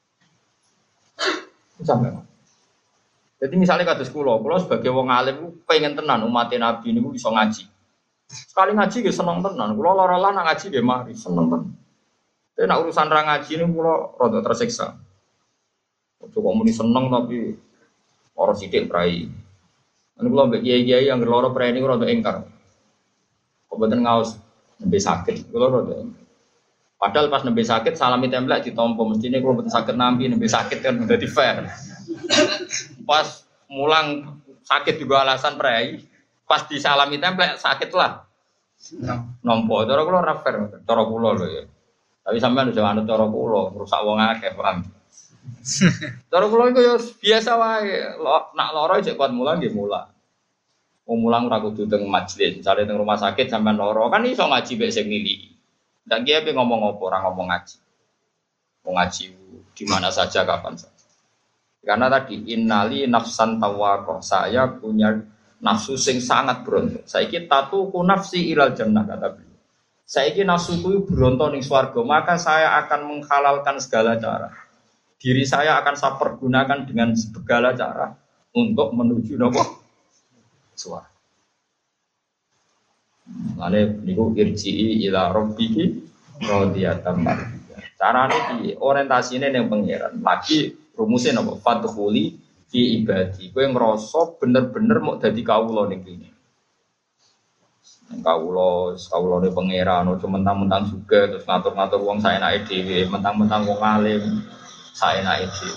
Sampai. Jadi misalnya kados kula sebagai wong alim pengen tenan umat Nabi niku iso ngaji. Sekali ngaji nggih seneng tenan. Kula lara-lara nak ngaji nggih mari seneng tenan. Tapi nak urusan ra ngaji niku kula rada tersiksa. Kok muni seneng tapi ora sithik prai. Anu kula mbek kiai-kiai yang loro prai niku rada engkar. Kok mboten ngaos nembe sakit. Kula rada. Padahal pas nembe sakit salami templek ditampa mestine kula mboten sakit nampi nembe sakit kan dadi fair. Pas mulang sakit juga alasan prai. Pas disalami templek sakit lah. Nompo cara kula ora fair, cara kula lho ya. Tapi sampean aja anut cara kula, rusak wong akeh, paham. Cara kula iku ya biasa wae. Nak lara cek kuat mulang nggih mulang. Wong mulang ora kudu teng majelis, misale teng rumah sakit sampean lara kan iso ngaji mek sing niliki. Ndak kiye ngomong apa ora ngomong ngaji. Wong ngaji di mana saja kapan saja. Karena tadi innali nafsan tawaqah, saya punya nafsu sing sangat berontok. Saiki tatuku nafsi ilal jannah kata beliau. Saiki nafsuku berontok ning swarga, maka saya akan menghalalkan segala cara. Diri saya akan saya pergunakan dengan segala cara untuk menuju napa? Swarga. Mane niku irji'i ila rabbiki radiyatan mardiyah. Carane piye? Orientasine ning pangeran. Lagi Rumusnya napa? Fadkhuli fi ibadi. Kowe ngrasa bener-bener mau dadi kawula ning kene. Kawulane pangeran ojo mentang-mentang juga terus ngatur-ngatur wong saenake dhewe, mentang-mentang wong alim saenake dhewe.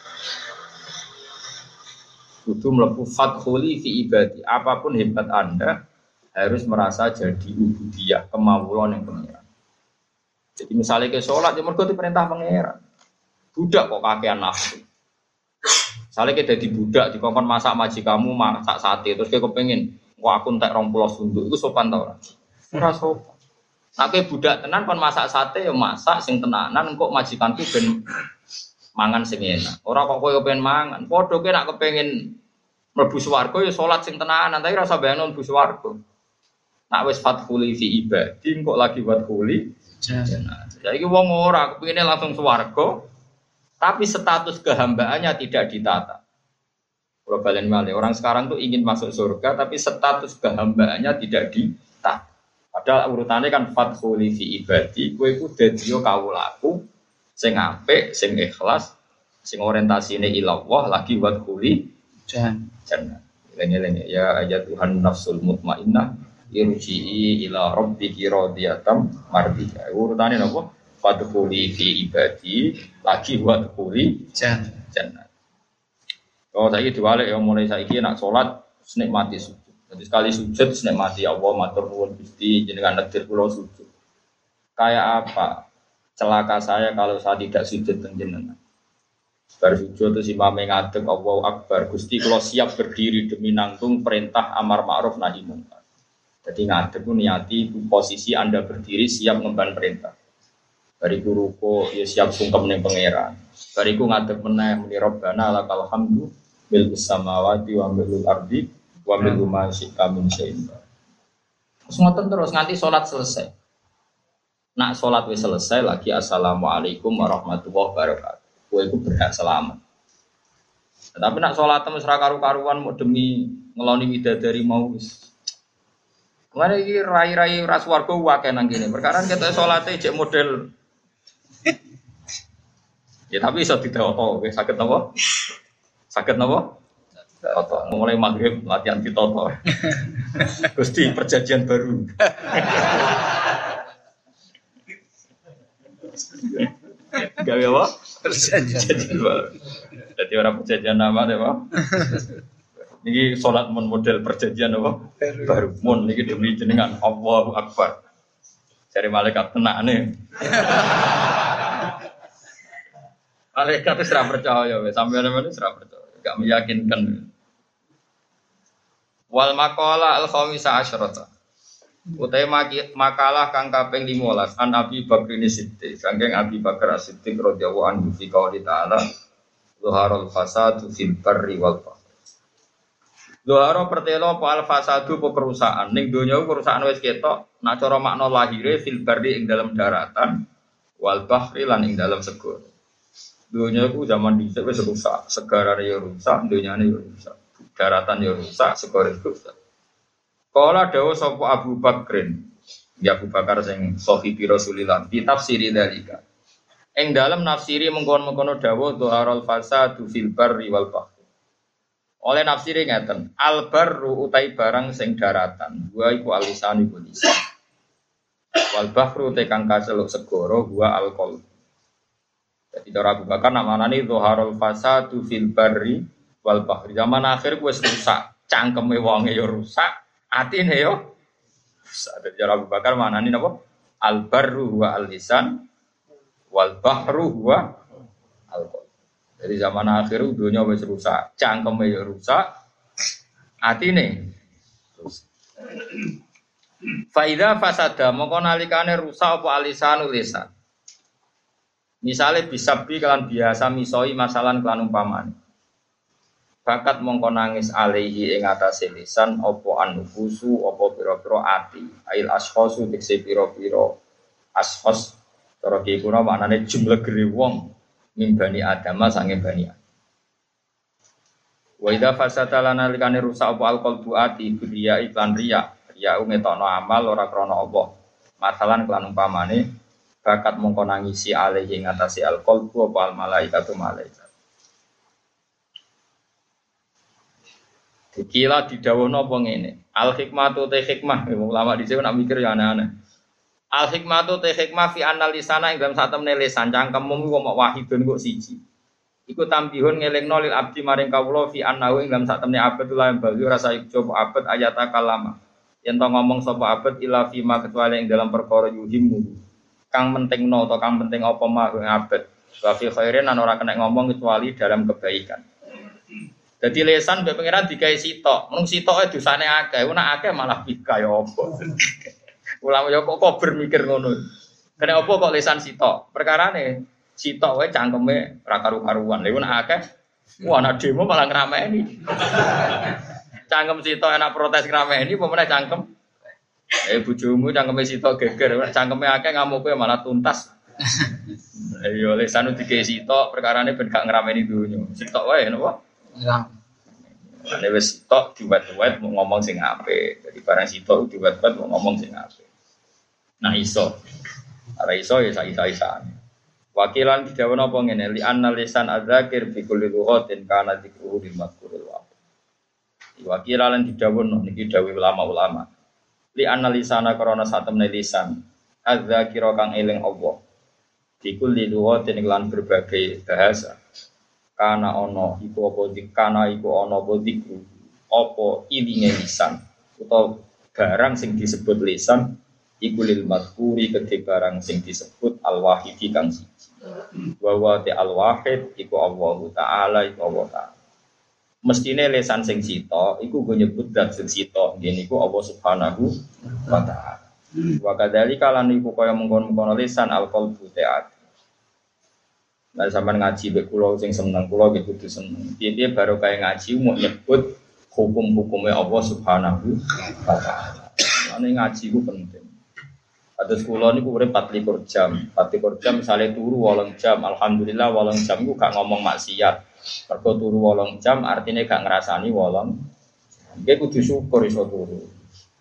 Kudu mlebu fadkhuli fi ibadi. Apapun hebat Anda harus merasa jadi ubudiyah, kemawulan yang pangeran. Jadi misalnya ke sholat, ya mergo diperintah pangeran. Budak kok kakean nafsu. Misalnya kita jadi budak, dikongkon masak majikamu, masak sate, terus kita kepengen, wah aku entek 20 sunduk, itu sopan tau ora? Ora sopan. Nek budak tenan kon masak sate ya masak sing tenanan, kok majikanku ben mangan sing enak. Ora kok kowe kepen mangan. Padha kowe nek kepengin mlebu swarga ya salat sing tenanan, tapi ora usah bayangno mlebu swarga. Nek wis fadkhuli fi ibadi, kok lagi fadkhuli jannah. Jadi wong ora kepengine langsung swarga, tapi status kehambaannya tidak ditata. Kalau balen malih, orang sekarang tuh ingin masuk surga, tapi status kehambaannya tidak ditata. Padahal urutannya kan fadkhuli fi ibadi, kowe iku dadi kawulaku sing apik, sing ikhlas, sing orientasine ila Allah lagi wadkhuli jannah. Lengi-lengi ya ayat Tuhan nafsul mutmainnah irji'i ila rabbiki radiyatan mardiyah. Urutane napa? Fadkhuli fi ibadi lagi wadkhuli jannah. Oh saiki diwalik ya mulai saiki nak salat nikmati sujud. Jadi sekali sujud nikmati Allah matur nuwun Gusti jenengan nedir kula sujud. Kayak apa? Celaka saya kalau saya tidak sujud teng jenengan. Bar sujud terus imame ngadeg Allahu Akbar. Gusti kula siap berdiri demi nanggung perintah amar ma'ruf nahi munkar. Jadi ngadeg ku niati posisi Anda berdiri siap ngemban perintah. Bariku ruko ya siap sungkem ning pangeran. Bariku ngadeg meneh muni Rabbana lakal hamdu bil samawati wa bil ardi wa bil ma syi'a min syai'in. Terus ngoten terus nganti salat selesai. Nak salat wis selesai lagi assalamualaikum warahmatullahi wabarakatuh. Kowe iku berhak selamat. Tapi nak salat wis ra karu-karuan mau demi ngeloni widadari mau wis. Kemarin iki rai-rai ras warga wae nang kene. Perkara kita salate cek model ya tapi iso ditoto, wis saged napa? Saged napa? Toto. Mulai maghrib latihan ditoto. Gusti perjanjian baru. Gawe apa? Perjanjian baru. Jadi orang perjanjian nama deh, Pak. Niki salat mun model perjanjian apa? Baru. Mun niki demi jenengan Allahu Akbar. Cari malaikat tenane. Malaikat itu serah percaya, sampai mana serah percaya, gak meyakinkan. Wal maqala al khamisah asyrata. Utai makalah kang kaping 15 an Abi Bakr Siddiq, saking Abi Bakar Siddiq radhiyallahu anhu fi qouli ta'ala zuharul fasadu fil barri wal bahr. Zuhara pertelo apa al fasadu apa kerusakan ning donya kerusakan wis ketok, nak cara makna lahire fil barri ing dalam daratan wal bahri lan ing dalam segara. Dunia itu zaman dhisik wis rusak, segarane ya rusak, dunyane ya rusak. Daratan ya rusak, segara rusak. Kala dawuh sapa Abu Bakrin, ya Abu Bakar sing sahibi Rasulillah, kitab siri dalika. Ing dalem nafsiri mengkon-mengkono dawuh dhuharul fasadu fil barri wal bahr. Oleh nafsiri ngeten, al barru utai barang sing daratan, wa iku alisan iku lisan. Wal bahru te kang kaseluk segara wa al qalb. Jadi cara Abu Bakar nak manani dhuharul fasadu fil barri wal bahri. Zaman akhir wis rusak, cangkeme wonge ya rusak, atine ya rusak. Jadi cara Abu Bakar manani napa? Al barru wa al lisan wal bahru wa al qalb. Jadi zaman akhir dunia wis rusak, cangkeme ya rusak, atine rusak. Fa idza fasada mongko nalikane rusak apa alisanul lisan. Misale bisabi kelan biasa misoi masalan kelan umpamane. Bakat mongko nangis alaihi ing atase lisan apa anufusu apa pira-pira ati. Ail ashkhasu tekse pira-pira ashkhas cara ki kuna maknane jumlah gere wong mimbani adama sange bani. Wa idza fasata lana likane rusak apa alqalbu ati biya iklan riya. Riya ngetokno amal ora krana Allah. Masalan kelan umpamane bakat mongko nangisi alaihi ngatasi al-qalbu apa al-malaikatu malaikat. Dikira didhawuhna apa ngene. Al hikmatu te hikmah, ulama dhisik nak mikir ya aneh-aneh. Al hikmatu te hikmah fi analisana ing dalam sak temne lisan cangkemmu kok mok wahidun kok siji. Iku tambihun ngelingno lil abdi maring kawula fi annahu ing dalam sak temne abad lan bali rasa ijo abad ayata kalama. Yen to ngomong sapa abad ila fi ma kecuali ing dalam perkara yuhimmu. Kang pentingno atau kang penting apa mah ing abad. Wa fi khairin ora kena ngomong kecuali dalam kebaikan. Jadi lesan mbek pangeran digawe sitok. Mung sitoke dosane akeh, nek akeh malah bika ya apa. Ulama ya kok bermikir ngono. Kene apa kok lesan sitok? Perkarane sitok wae cangkeme ra karu-karuan. Lha nek akeh anak demo malah ngrameni. Cangkem sitok enak protes ngrameni apa meneh cangkem. Bojomu cangkeme sitok geger, cangkeme akeh ngamuke malah tuntas. Ayo lesan digawe sitok perkarane ben gak ngrameni donya. Sitok wae napa? Ya. Ane wis tok diwet-wet mau ngomong sing apik. Jadi barang sitok diwet-wet mau ngomong sing apik. Nah iso. Ora iso ya isa-isane. Wakilan didhawuhna apa ngene li anna lisan adzakir fi kulli lughatin kana dzikruhu lil madhkuril wa. Wakilan didhawuhna niki dawuh ulama-ulama. Li anna lisana karana satemene lisan adzakira kang eling Allah. Fi kulli lughatin lan berbagai bahasa. Kana ono iku apa dikana iku ono apa dikru apa ilinge lisan utawa barang sing disebut lisan iku lil madhkuri kedhe barang sing disebut al wahidi kang siji wa wa ta al wahid iku Allah taala iku Allah taala mestine lisan sing sita iku go nyebut zat sing sita ngene iku Allah subhanahu wa taala wa kadzalika lan iku kaya mengkon-mengkon lisan al qalbu ta'at. Nah sampean ngaji mbek kula sing seneng kula nggih kudu seneng. Piye-piye baru kaya ngaji mau nyebut hukum-hukume Allah Subhanahu wa taala. Ane ngaji ku penting. Kados kula niku urip 24 jam. 24 jam misale turu 8 jam, alhamdulillah 8 jam ku gak ngomong maksiat. Mergo turu 8 jam artine gak ngrasani 8. Nggih kudu syukur iso turu.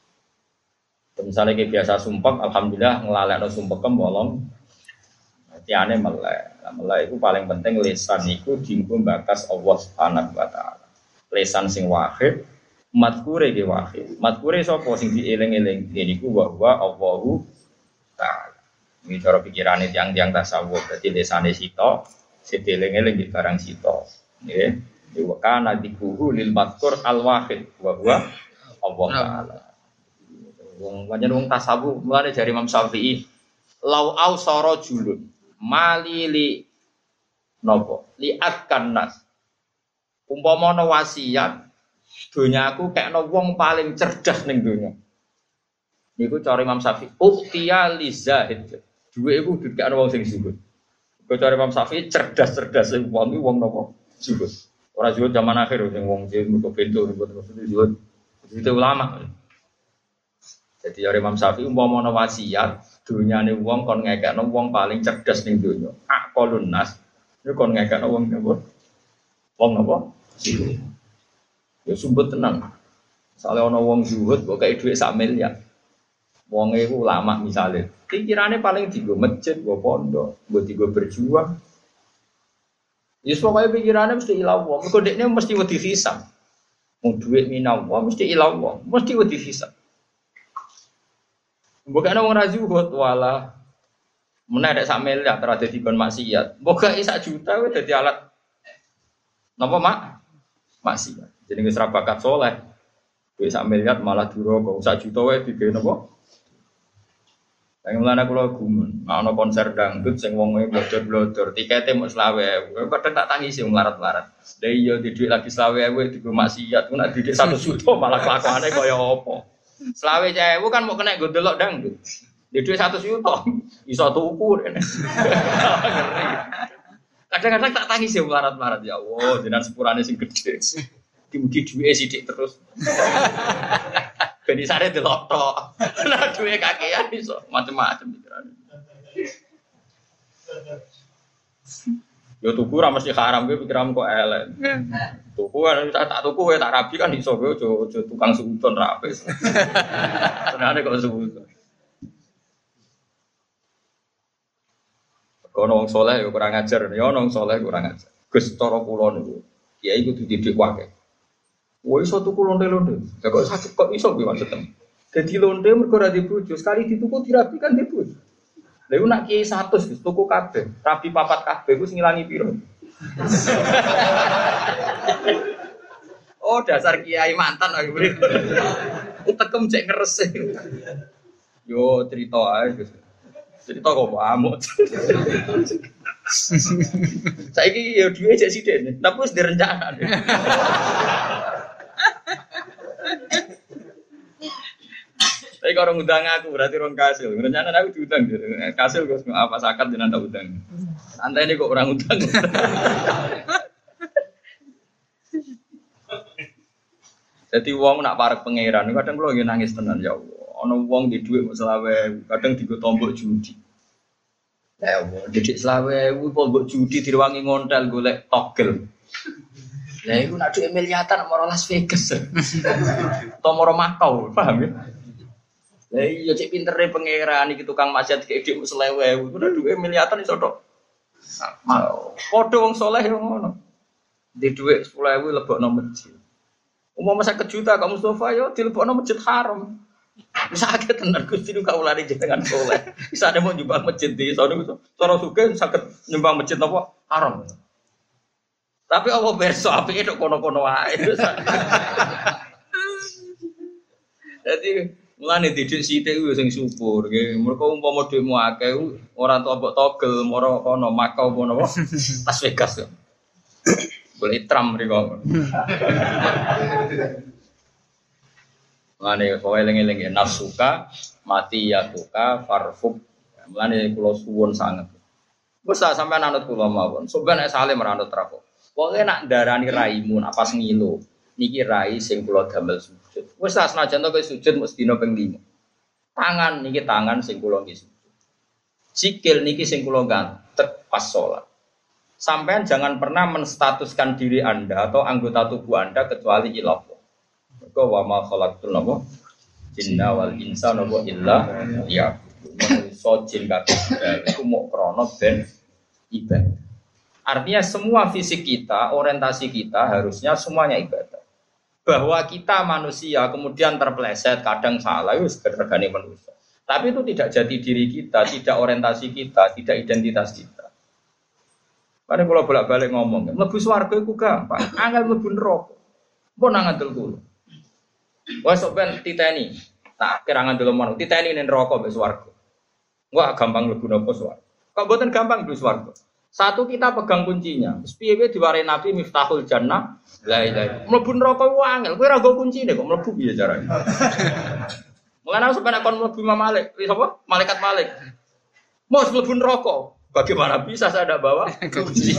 Misale ki biasa sumpek, alhamdulillah nglalekno sumpekem 8. Tiane melek itu paling penting lisan itu dienggo mbakas Allah Subhanahu wa taala. Lisan sing wahid, madhkure ge wahid. Madhkure sapa sing dieling-eling niku wa Allahu taala. Iki cara pikirane tiyang-tiyang tasawuf. Dadi lisane sita, sedieling-eling di barang sita. Nggih. Wa kana dikuhu lil madhkur al wahid wa Allah taala. Wong pancen wong tasawuf mulane jare Imam Syafi'i lau ausara julun malili nopo liatkan nas umpama ana wasiat donyaku kekno wong paling cerdas ning donya niku cara Imam Syafi'i uktiya lizahid duwe iku dikekno wong sing zuhud kok cara Imam Syafi'i cerdas-cerdas sing wong nopo zuhud ora zuhud zaman akhir sing wong mergo bento terus zuhud itu ulama. Jadi cara Imam Syafi'i umpama ana wasiat dunyane wong kon ngekekno wong paling cerdas ning donya. Aqalun nas. Iku kon ngekekno wong napa? Wong napa? Ya sumpet tenang. Misale ana wong zuhud kok kei dhuwit 1 miliar. Wong iku ulama misale. Pikirane paling dienggo masjid, nggo pondok, nggo dienggo berjuang. Wis pokoke pikirane mesti ilang wong. Mergo dekne mesti wedi hisab. Wong dhuwit minawa mesti ilang wong, mesti wedi hisab. Bukan orang razuhut wala, mana ada 1 miliar terhadap dikon maksiat. Bukan 1 juta, itu jadi alat. Napa maksiat. Jadi nggak bakat soleh. 1 miliar malah duroko. 1 juta itu dia napa. Yang mana kalau gumun, mau konser dangdut, sing wongnya blodor-blodor, tiketnya mau 20.000. Kadang tak tangis sih melarat-melarat. Dari yo di duit lagi 20.000 di maksiat, nak duit 1 juta malah kelakuannya kaya apa. Selawe cewek kan mau kena gondelok dangdut. Di duit 1 juta, iso tuku. Kadang-kadang tak tangis ya melarat-melarat ya Allah, jenengan sepurane sing gede. Dimugi duwe sithik terus. Ben isane delok tok. Nah duwe kakean iso macam-macam pikirane. Yo tuku ra mesti haram kowe pikiranmu kok elek. Tuku kan tak tuku kowe tak rabi kan iso kowe aja tukang suudon ra apes. Senane kok suudon. Kono wong saleh yo kurang ajar, yo wong saleh kurang ajar. Gus cara kula niku, kiai kudu didik wae. Woi iso tuku lonte-lonte. Ya kok sakit kok iso kuwi maksudnya. Jadi lonte mergo ora dibojo, sekali dituku dirapikan dibojo. Lha iku nak kiai 100 wis tuku kabeh, rapi papat kabeh iku sing ngilangi piro? Oh dasar kiai mantan aku beri. Utekem cek ngeres. Yo cerita ae Gus. Cerita kok amuk. Saiki yo duwe cek sithik, tapi wis direncana. Tapi kalau ngundang aku berarti orang kasil. Rencana aku diundang. Kasil gue apa sakat dengan tak udang. Santai ini kok orang udang. Jadi uang nak parek pangeran. Kadang kalau lagi nangis tenan ya Allah. Ono uang di duit selawe. Kadang digo tombok judi. Ya Allah. Didik selawe. Tombok judi diruangi ngontel golek togel. Nah itu nak duit miliatan mau Las Vegas. Atau mau Makau. Paham ya? Lah iya cek pintere pangeran iki tukang maksiat kayak dik selewe. Udah duwe miliatan iso tok. Padha wong saleh yo ngono. Di dhuwit 10.000 lebokno masjid. Umpama 50 juta Kak Mustofa yo dilebokno masjid haram. Wis akeh tenan Gusti nu kaulane jenengan saleh. Bisa ada mau nyumbang masjid di sono cara sugih saged nyumbang masjid napa haram. Tapi apa berso apike tok kono-kono wae. Jadi mulane didik sithik ku sing syukur nggih. Mergo umpama dhekmu akeh ora entuk mbok togel moro kono Makau kono apa Las Vegas. Boleh Trump mriko. Mulane kowe eling-eling nafsuka mati ya tuka farfuk. Mulane kula suwun sanget. Wes sampean anut kula mawon. Sampeyan nek saleh meranut rapo. Pokoke nak ndarani raimu nak pas ngilo. Niki rai sing kula damel sujud. Wis senajan to kowe sujud mesti dina ping 5. Tangan niki tangan sing kula nggih sujud. Sikil niki sing kula gantek pas salat. Sampean jangan pernah menstatuskan diri Anda atau anggota tubuh Anda kecuali ilah. Mergo wa ma khalaqtul jinna wal insa illa liya'budun. So jin kabeh iku mok krana ben ibadah. Artinya semua fisik kita, orientasi kita harusnya semuanya ibadah. Bahwa kita manusia kemudian terpeleset, kadang salah, itu segergani manusia. Tapi itu tidak jati diri kita, tidak orientasi kita, tidak identitas kita. Karena kalau bolak-balik ngomong, mlebu swarga itu gampang, angel mlebu neraka. Mbok nang ngandel kulo. Wes sok ben titeni. Tak kira ngandel mono, titeni ning neraka mbek swarga. Enggak gampang mlebu neraka swarga. Kok mboten gampang mlebu swarga. Satu kita pegang kuncinya. Piye-piye diwarai Nabi Miftahul Jannah. La ilaha. Mlebu neraka ku angel. Kowe ora nggo kuncine kok mlebu piye carane? Mulane aku sampe nek kon mlebu Imam Malik, sapa? Malaikat Malik. Mos mlebu neraka. Bagaimana bisa saya tidak bawa kunci?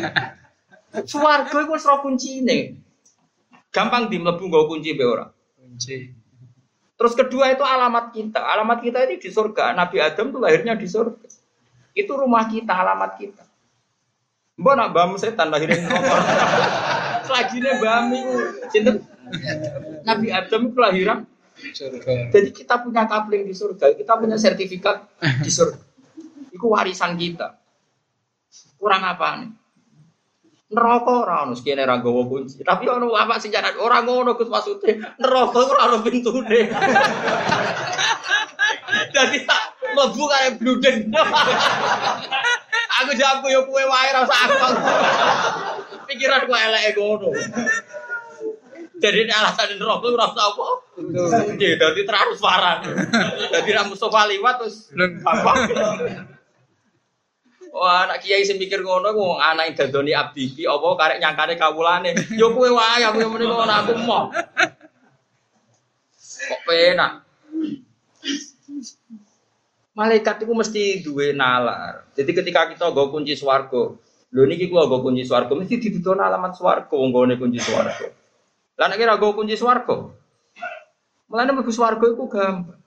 Swarga iku wis ora kuncine. Gampang di mlebu nggo kunci be ora. Kunci. Terus kedua itu alamat kita. Alamat kita ini di surga. Nabi Adam itu lahirnya di surga. Itu rumah kita, alamat kita. Mbok nak mbahmu setan lahirin neraka. Selagine mbahmu iku sinten? Nabi Adam itu lahiran surga. Jadi kita punya kapling di surga, kita punya sertifikat di surga. Iku warisan kita. Kurang apa nih? Neraka ora ono sekene ra nggawa kunci. Tapi ono apa sing jaran ora ngono Gus maksude. Neraka ora ono pintune. Jadi tak mlebu kaya bluden. Aku jago yo kowe wae ra usah aku. Pikiran kok eleke ngono. Jadi alasan neraka ora usah apa. Nggih, dadi transparan. Dadi ra Mustofa liwat terus gampang. Wah, anak kiai sing mikir ngono ku anak dadoni abdi iki apa karek nyangkane kawulane. Yo kowe wae aku muni ngono aku emoh. Kok penak. Malaikat itu mesti duwe nalar. Jadi ketika kita nggo kunci swarga, lho niki kula nggo kunci swarga mesti didudukno alamat swarga wong nggone kunci swarga. Lah nek ora nggo kunci swarga. Mulane mlebu swarga iku gampang.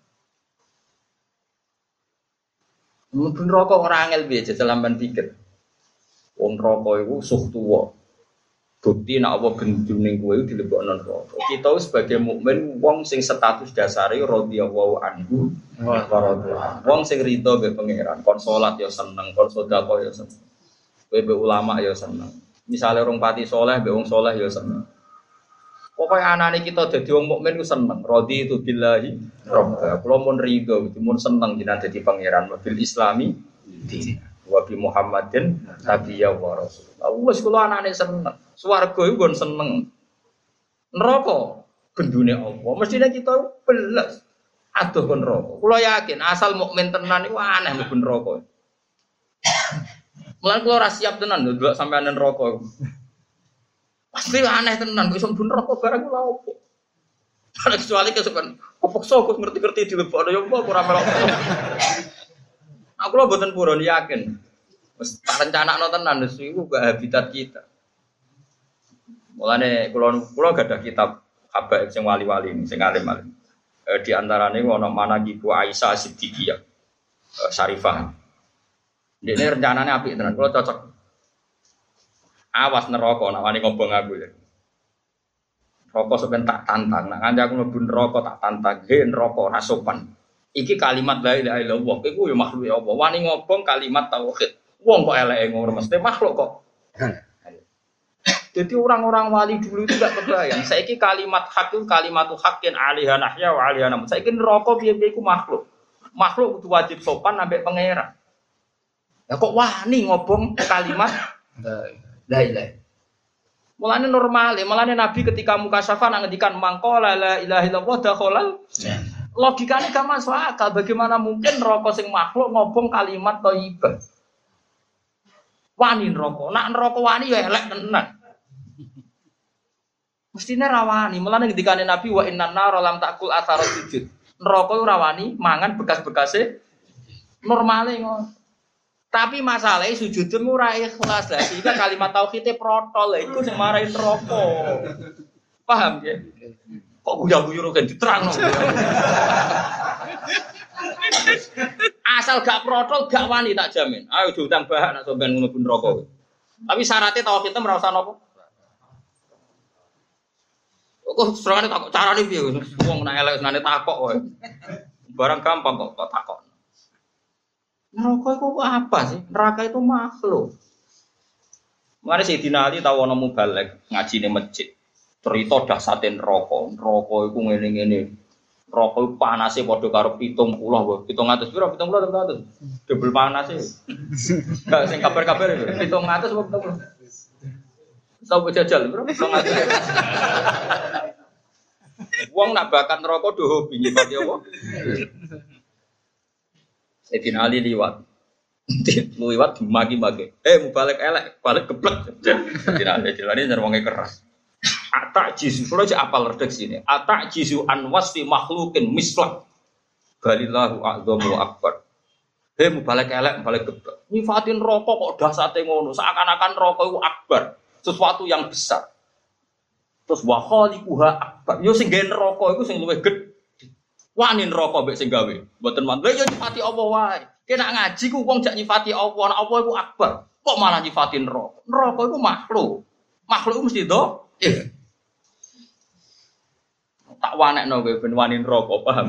Mlebu neraka ora angel piye jajal lamban pikir. Wong neraka iku suh tuwa. Bukti nek apa gendune kowe dilebokno neraka. Kita sebagai mukmin wong sing status dasare radhiyallahu anhu wa radha. Wong sing rido mbek pangeran, kon salat ya seneng, kon sedekah ya seneng. Kowe mbek ulama ya seneng. Misale orang pati saleh mbek wong saleh ya seneng. Pokoknya anak kita dadi wong mukmin ku seneng. Rodi itu billahi robba. Kulo mun rido, mun seneng jenengan dadi pangeran bil Islami din. Wa bi Muhammadin nabiyya wa rasul. Wes kulo anane seneng. Swarga iku nggon seneng. Neraka gendune Allah. Mestine kita belas aduh kon neraka. Kulo yakin asal mukmin tenan iku aneh mlebu neraka. Mulan kulo ora siap tenan lho delok sampeyan neraka. Pasti aneh tenan, kok iso mlebu neraka barang lha opo. Ana kecuali kesukaan, kepeksa kok ngerti-ngerti dilebokno ya apa ora melok. Aku lho mboten purun yakin. Wis tak rencanakno tenan wis iku gak habitat kita. Mulane kula gadah kitab habaib sing wali-wali sing alim-alim. Di antarane ana Manaqibu Aisyah Siddiqiyah Syarifah. Dene rencanane apik tenan, kula cocok. Awas neraka nak wani ngobong aku ya. Neraka sampeyan tak tantang, nak kanca aku mlebu neraka tak tantang, he neraka ora sopan. Iki kalimat la ilaha illallah, iku ya makhluk ya Allah. Wani ngobong kalimat tauhid. Wong kok eleke ngono mesti makhluk kok. Jadi orang-orang wali dulu itu gak kebayang. Saiki kalimat hak itu kalimatu haqqin alaiha nahya wa alaiha namut. Saiki neraka piye-piye iku makhluk. Makhluk kudu wajib sopan ambek pangeran. Lah kok wani ngobong kalimat la ilaha. Mulane normal, mulane Nabi ketika mukasyafah ngendikan mangqala la ilaha illallah dakhalal. Logikane gak masuk akal. Bagaimana mungkin neraka sing makhluk ngobong kalimat thayyibah? Wani neraka. Nak neraka wani ya elek tenan. Mestine rawani. Mulane ngendikane Nabi wa innan nar lam takul athara sujud. Neraka ora wani mangan bekas-bekase normale ngono. Tapi masalahnya sujudmu ora ikhlas lah. Sehingga kalimat tauhidnya protol lah. Itu yang marahin rokok. Paham ya? Kok guya-guyu kan diterang. Asal gak protol, gak wani tak jamin. Ayo diutang bahak nak sampean ngono pun rokok. Tapi syaratnya tauhidnya merasa nopo. Kok serangane takok carane piye? Wong nek elek senane takok wae. Barang gampang kok takok. Neraka itu apa sih? Neraka itu makhluk. Mari Sayyidina Ali tahu ana mubalek ngaji ning masjid. Cerita dahsate neraka. Neraka iku ngene-ngene. Neraka iku panase padha karo 70 wae. 700 piro? 70 700. Double panase. Enggak sing kabar-kabar itu. 700 apa 70? Tau jajal, bro. 700. Wong nak bakat neraka do hobi nyifati apa? Sayyidina Ali liwat. Liwat magi-magi. Mubalek elek, balik geblek. Sayyidina Ali jelane wonge keras. Atak jisu, kalau aja apal redaksi ini. Atak jisu anwasfi makhlukin mislah. Balillahu a'dhamu akbar. Mubalek elek, balik geblek. Nyifatin rokok kok dahsate ngono. Seakan-akan rokok itu akbar. Sesuatu yang besar. Terus wa khaliquha akbar. Yo sing gawe neraka iku sing luwih gedhe. Wani neraka mbek sing gawe. Mboten man. Lha yo nyifati Allah wae. Kena ngaji ku wong jak nyifati Allah, nek Allah iku akbar. Kok malah nyifati neraka? Neraka iku makhluk. Makhluk iku mesti do. Tak wanekno kowe ben wani neraka, paham?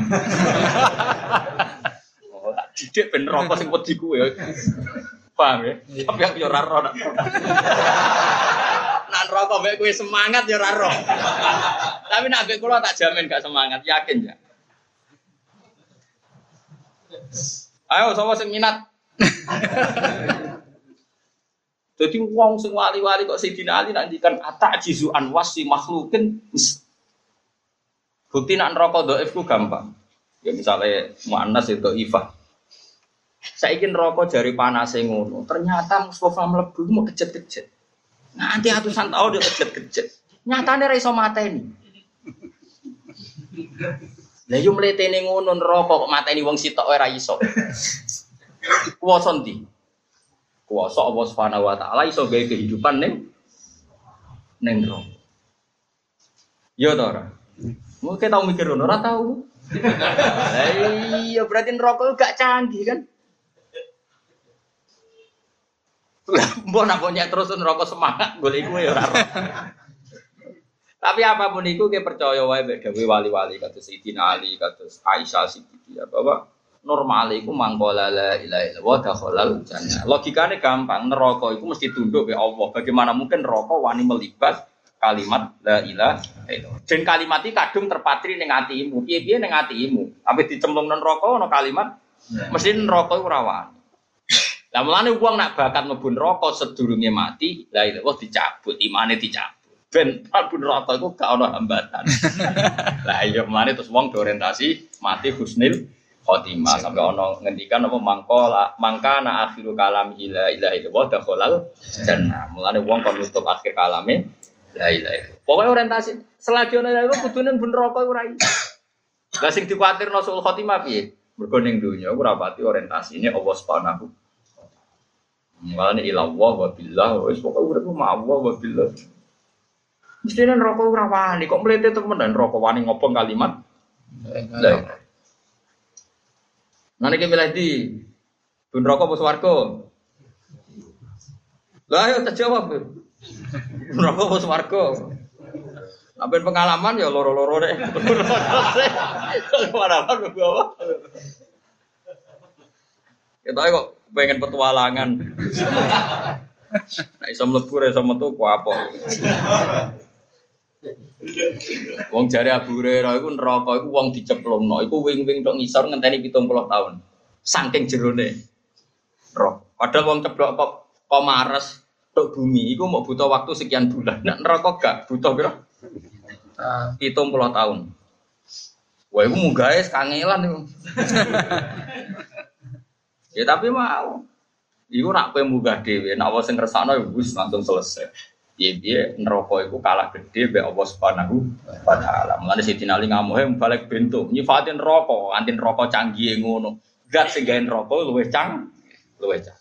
Oh, tak didik ben neraka sing wedi kuwe. Paham ya? Tapi aku yo ora ro. Nan rokok mbek kowe semangat ya ora ro. Tapi nek mbek kula tak jamin gak semangat, yakin ya. Ayo sapa sing minat. Jadi wong sing wali-wali kok Sayyidina Ali nak ngendikan atajizu an wasi makhlukin. Bukti nak neraka dhaif ku gampang. Ya misalnya muannas itu ifah. Saiki neraka jari panase ngono. Ternyata Mustafa mlebu mau kejet-kejet. Nanti atusan tahun dia kejet-kejet. Nyatane ra iso mateni. Lah yo mletene ngono neraka kok mateni wong sitok ora iso. Kuwasa ndi? Kuwasa Allah Subhanahu wa taala iso gawe kehidupan ning neraka. Yo to ora? Mungkin tau mikir ngono ora tau. Lah iya berarti neraka gak canggih kan? Mbok nak nyek terus neraka semangat golek iku ya ora. Tapi apapun itu kita percaya wae mbek dawuh wali-wali kados Sayyidina Ali, kados Aisyah Siddiqiyah bahwa normal iku mangkola la ilaha illallah dakhalal jannah. Logikane gampang, neraka iku mesti tunduk ke Allah. Bagaimana mungkin neraka wani melibat kalimat la ilaha illallah. Jen kalimat iki kadung terpatri ning atimu. Piye-piye ning atimu. Ape dicemplung nang neraka ana kalimat mesti neraka iku ora wani. Lah mulane wong nak bakat mlebu neraka sedurunge mati, la ilaha dicabut, imane dicabut. Ben mlebu neraka iku gak ana hambatan. Lah iya mulane terus wong orientasi mati husnul khotimah sampai ono ngendikan apa mangkana akhiru kalam la ilaha illallah dakhalal jannah. Mulane wong kon nutup akhir kalame la ilaha illallah. Pokoke orientasi selagi ono iku kudune ben neraka iku ora iso. Lah sing dikuwatirno sul khotimah piye? Mergo ning donya ora pati orientasine Allah Subhanahu. Mulane ilallah wa billah wis pokoke urip ma Allah wa billah. Mestine neraka ora wani kok mlete temen neraka wani ngopong kalimat la ilaha. Nane ki milih di neraka apa swarga? Lah ayo tak jawab. Neraka apa swarga? Sampai pengalaman ya loro-loro deh. Pengalaman bawa. Kita kok pengen petualangan. Nah, iso mlebu iso metu ku apa? Wong jare Abu Hurairah iku neraka iku wong diceplungno, iku wing-wing tok ngisor ngenteni 70 tahun. Saking jerone. Roh. Padahal wong ceblok kok mares tok bumi iku mau butuh waktu sekian bulan. Nek neraka gak butuh pira? 70 tahun. Wah, iku munggahe kangelan iku. Ya tapi mau. Iku nak kowe munggah dhewe, nek apa sing ngersakno wis langsung selesai. Piye neraka iku kalah gede mbek Allah Subhanahu wa taala. Mulane Sidina Ali ngamuhe balik bentuk nyifati neraka, anti neraka canggih ngono. Zat sing gawe neraka luwih luwih cang.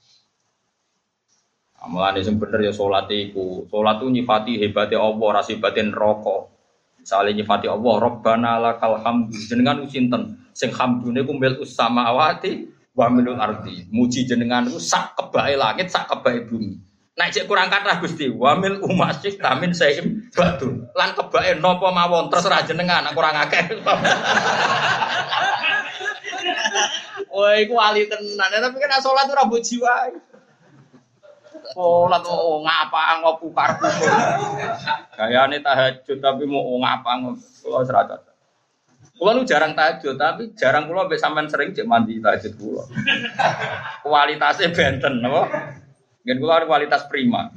Mulane sing bener ya salat iku. Salat ku nyifati hebate Allah, ra hebate neraka. Misale nyifati Allah, Rabbana lakal hamdu. Jenengan sinten? Sing hamdune ku mil samawati wa milul ardi. Muji jenengan ku sak kebae langit, sak kebae bumi. Nek cek kurang kathah Gusti, wa mil umasik tamin saim batu. Lan kebae napa mawon terserah jenengan, kurang akeh. Woi, iku wali tenan. Tapi kan salat ora mbok jiwa. Salat ngapa ngopo karepku. Gayane tahajud tapi mau ngapa kula seracat. Kula nu jarang tahajud tapi jarang kula mbek sampean sering cek mandi tahajud kula. Kualitasnya benten napa? Ngen kula kualitas prima.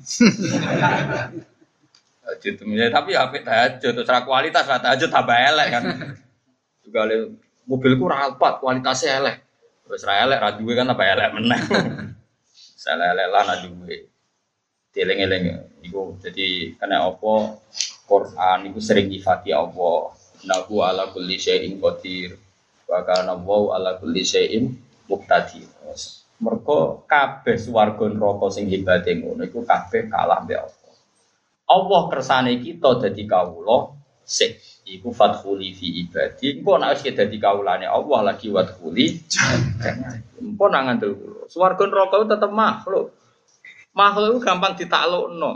Tahajud tapi apik tahajud terus ra kualitas lah tahajud tambah elek kan. Juga mobilku ra alpat kualitasnya elek. Terus ra elek ra duwe kan tambah elek meneh. Salah-salah lah nak duwe. Dieling-eling iku jadi kena apa Quran iku sering nyifati Allah. Nahu ala kulli syai'in qadir. Wa kana Allahu ala kulli syai'in muqtadir. Mergo kabeh swarga neraka sing hebate ngono iku kabeh kalah mbek Allah. Allah kersane kita dadi kawula sik iku fadkhuli fi ibadi. Engko nek wis dadi kawulane Allah lagi wadkhuli. Engko nang ngandel kula. Swarga neraka tetep makhluk. Makhluk itu gampang ditaklukno.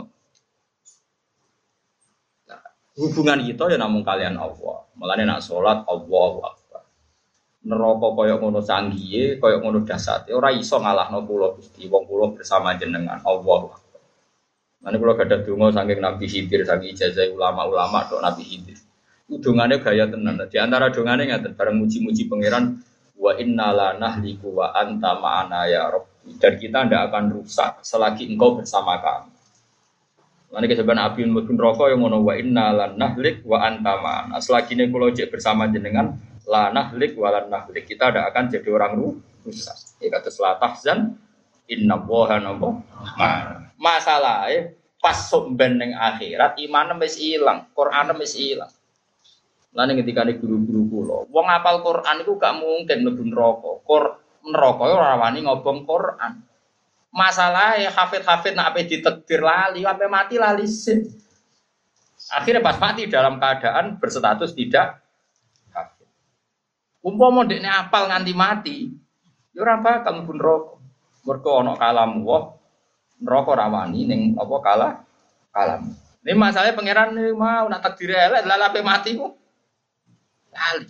Nah, hubungan kita ya namung kalian Allah. Mulane nak salat Allahu Akbar. Neraka kaya ngono canggihe, kaya ngono dasate ora iso ngalahno kula Gusti. Wong kula bersama jenengan Allahu Akbar. Mane kula gadah donga saking Nabi Khidir saking ijazah ulama-ulama tok Nabi Khidir. Dongane gaya tenan. Di antara dongane ngaten bareng muji-muji pangeran wa inna nahliku wa anta ma'ana ya Rabb. Dan kita tidak akan rusak selagi engkau bersama kami. Nanti keseban api mungkin rokok yang ngono wa inna lan nahlik wa anta ma'ana. Selagi ini kalau cek bersama jenengan la nahlik wa lan nahlik. Kita tidak akan jadi orang rusak. Ya kata selah tahzan inna woha nopo ma'ana. Masalah pas somben ning akhirat iman wis ilang, Quran wis ilang. Lan ketika guru-guru kula, wong hafal Quran iku gak mungkin mlebu neraka. Neraka ora wani ngobong Quran. Masalahe hafid-hafid nek ape ditakdir lali, ape mati lali sih. Akhirnya pas mati dalam keadaan berstatus tidak hafid. Umpama ndekne apal nganti mati, ya ora bakal mlebu neraka. Mergo ana kalam wa neraka ora wani ning apa kalam. Ini masalahnya pangeran mau nak takdir elek lha ape mati ku lali.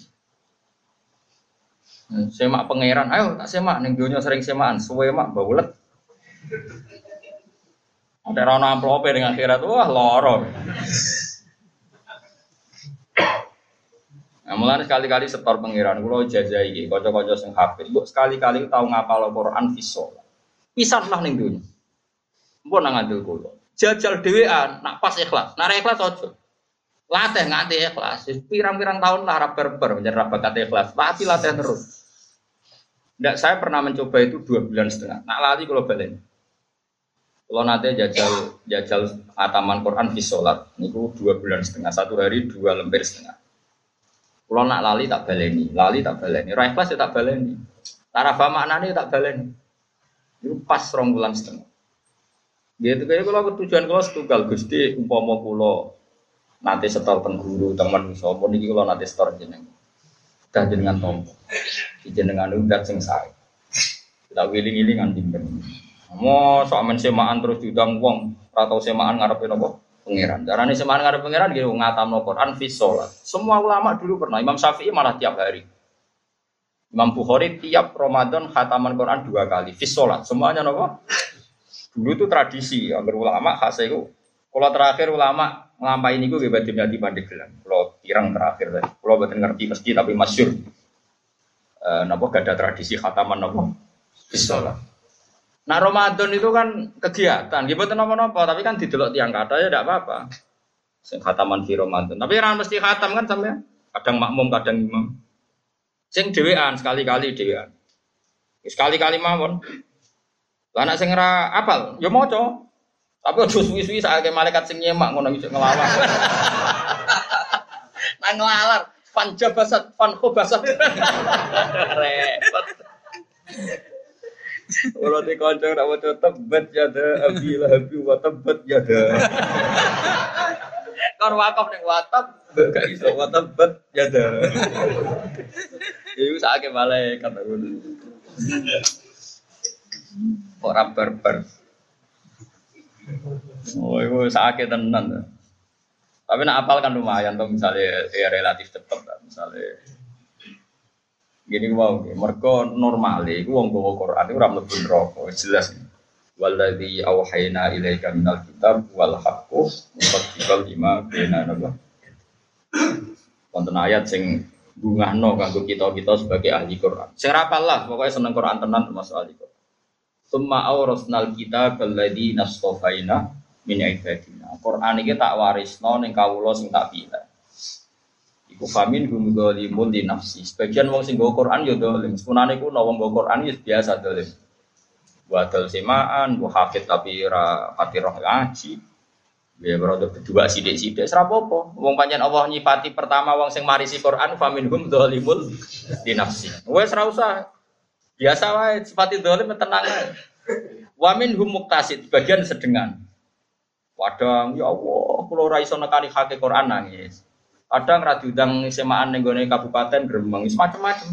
Semak pangeran, ayo tak semak ning donya sering semakan, suwe mak baulet. Ada rono amplope ning akhirat, wah loro. Nah, mulane sekali-kali setor pangeran kula jajai iki kanca-kanca sing hafid. Mbok sekali-kali tau ngapal Al-Qur'an fisol. Pisanlah ning donya. Mbok nang ngandel kula. Jajal dhewean nak pas ikhlas. Nak ikhlas aja. Latih nganti ikhlas. Pirang-pirang tahun lah berber menjadi bakat ikhlas. Pasti latih terus. Ndak saya pernah mencoba itu 2,5 bulan. Nak lali kula balen. Kalau nanti jajal ataman Quran fi sholat, niku 2,5 bulan, 1 hari 2 lembar setengah. Kalau nak lali tak baleni, Rai kelas ya tak baleni. Tarafa maknane tak baleni. Itu pas 2,5 bulan. Gitu kayak kalau tujuan kalau setunggal Gusti umpama kula nanti setor teng guru teman sapa niki kula nanti setor jeneng. Dah jenengan tompo. Jenengan undat sing sae. Tak wiling-wilingan dimben. Mau sok men semaan terus diundang wong, ora tau semaan ngarepe napa? Pangeran. Carane semaan ngarepe pangeran nggih ngatamno Quran fi sholat. Semua ulama dulu pernah, Imam Syafi'i malah tiap hari. Imam Bukhari tiap Ramadan khataman Quran 2 kali fi sholat. Semuanya napa? Dulu itu tradisi, agar ulama khas iku. Kalau terakhir ulama nglampahi niku nggih badhe nyati Pandeglang. Kalau pirang terakhir tadi. Kalau boten ngerti mesti tapi masyhur. Napa gak ada tradisi khataman napa? Fi sholat. Nah Ramadan itu kan kegiatan, gitu napa-napa, tapi kan didelok tiang kata ya tidak apa-apa. Sing khataman fi Ramadan, tapi kan mesti khatam kan sampai kadang makmum, kadang imam. Sing dhewean sekali-kali dhewean. Sekali-kali mawon. Lah anak sing ora apal, ya maca. Tapi aja suwi-suwi sakake malaikat sing nyemak ngono iso nglawan. Nang nglalar, fan jabasat, fan khobasat. Repot. Kalau di kancing nak baca tebat yada abilah abi wa tebat yada. Kan wakaf neng watab gak iso wa tebat yada. Iku sakake malaikat ngono. Ora barbar. Oh, iku sakake tenan. Tapi nak apal kan lumayan tuh misalnya ya relatif cepet misalnya. Gini wow, mereka normal, itu wong bawa Quran itu ramai pun rokok jelas. Waladhi awhayna ilaika minal kitab wal haqqu musaddiqal lima baina nabah. Wonten ayat sing bungahno kanggo kita sebagai ahli Quran. Sing rapal lah, pokoknya seneng Quran tenan termasuk ahli Quran. Summa awrasnal kitab alladzi nastafaina min ibadina. Quran iki tak warisno ning kawula sing tak pilih. Iku famin hum dzalimun li nafsi. Sebagian wong sing nggo Quran ya dolim. Sepunane ku wong nggo Quran ya biasa dolim. Wa dal semaan, wa hafid tapi ora pati roh ngaji. Ya berada berdua sithik-sithik ora apa-apa. Wong pancen Allah nyifati pertama wong sing marisi Quran famin hum dzalimun li nafsi. Wes ora usah. Biasa wae sifati dolim tenang ae. Wa minhum muqtasid, bagian sedengan. Wadang ya Allah, kula ora iso nekani hake Quran nangis. Kadang ra diundang semaan ning gone kabupaten Gremeng, macam-macam.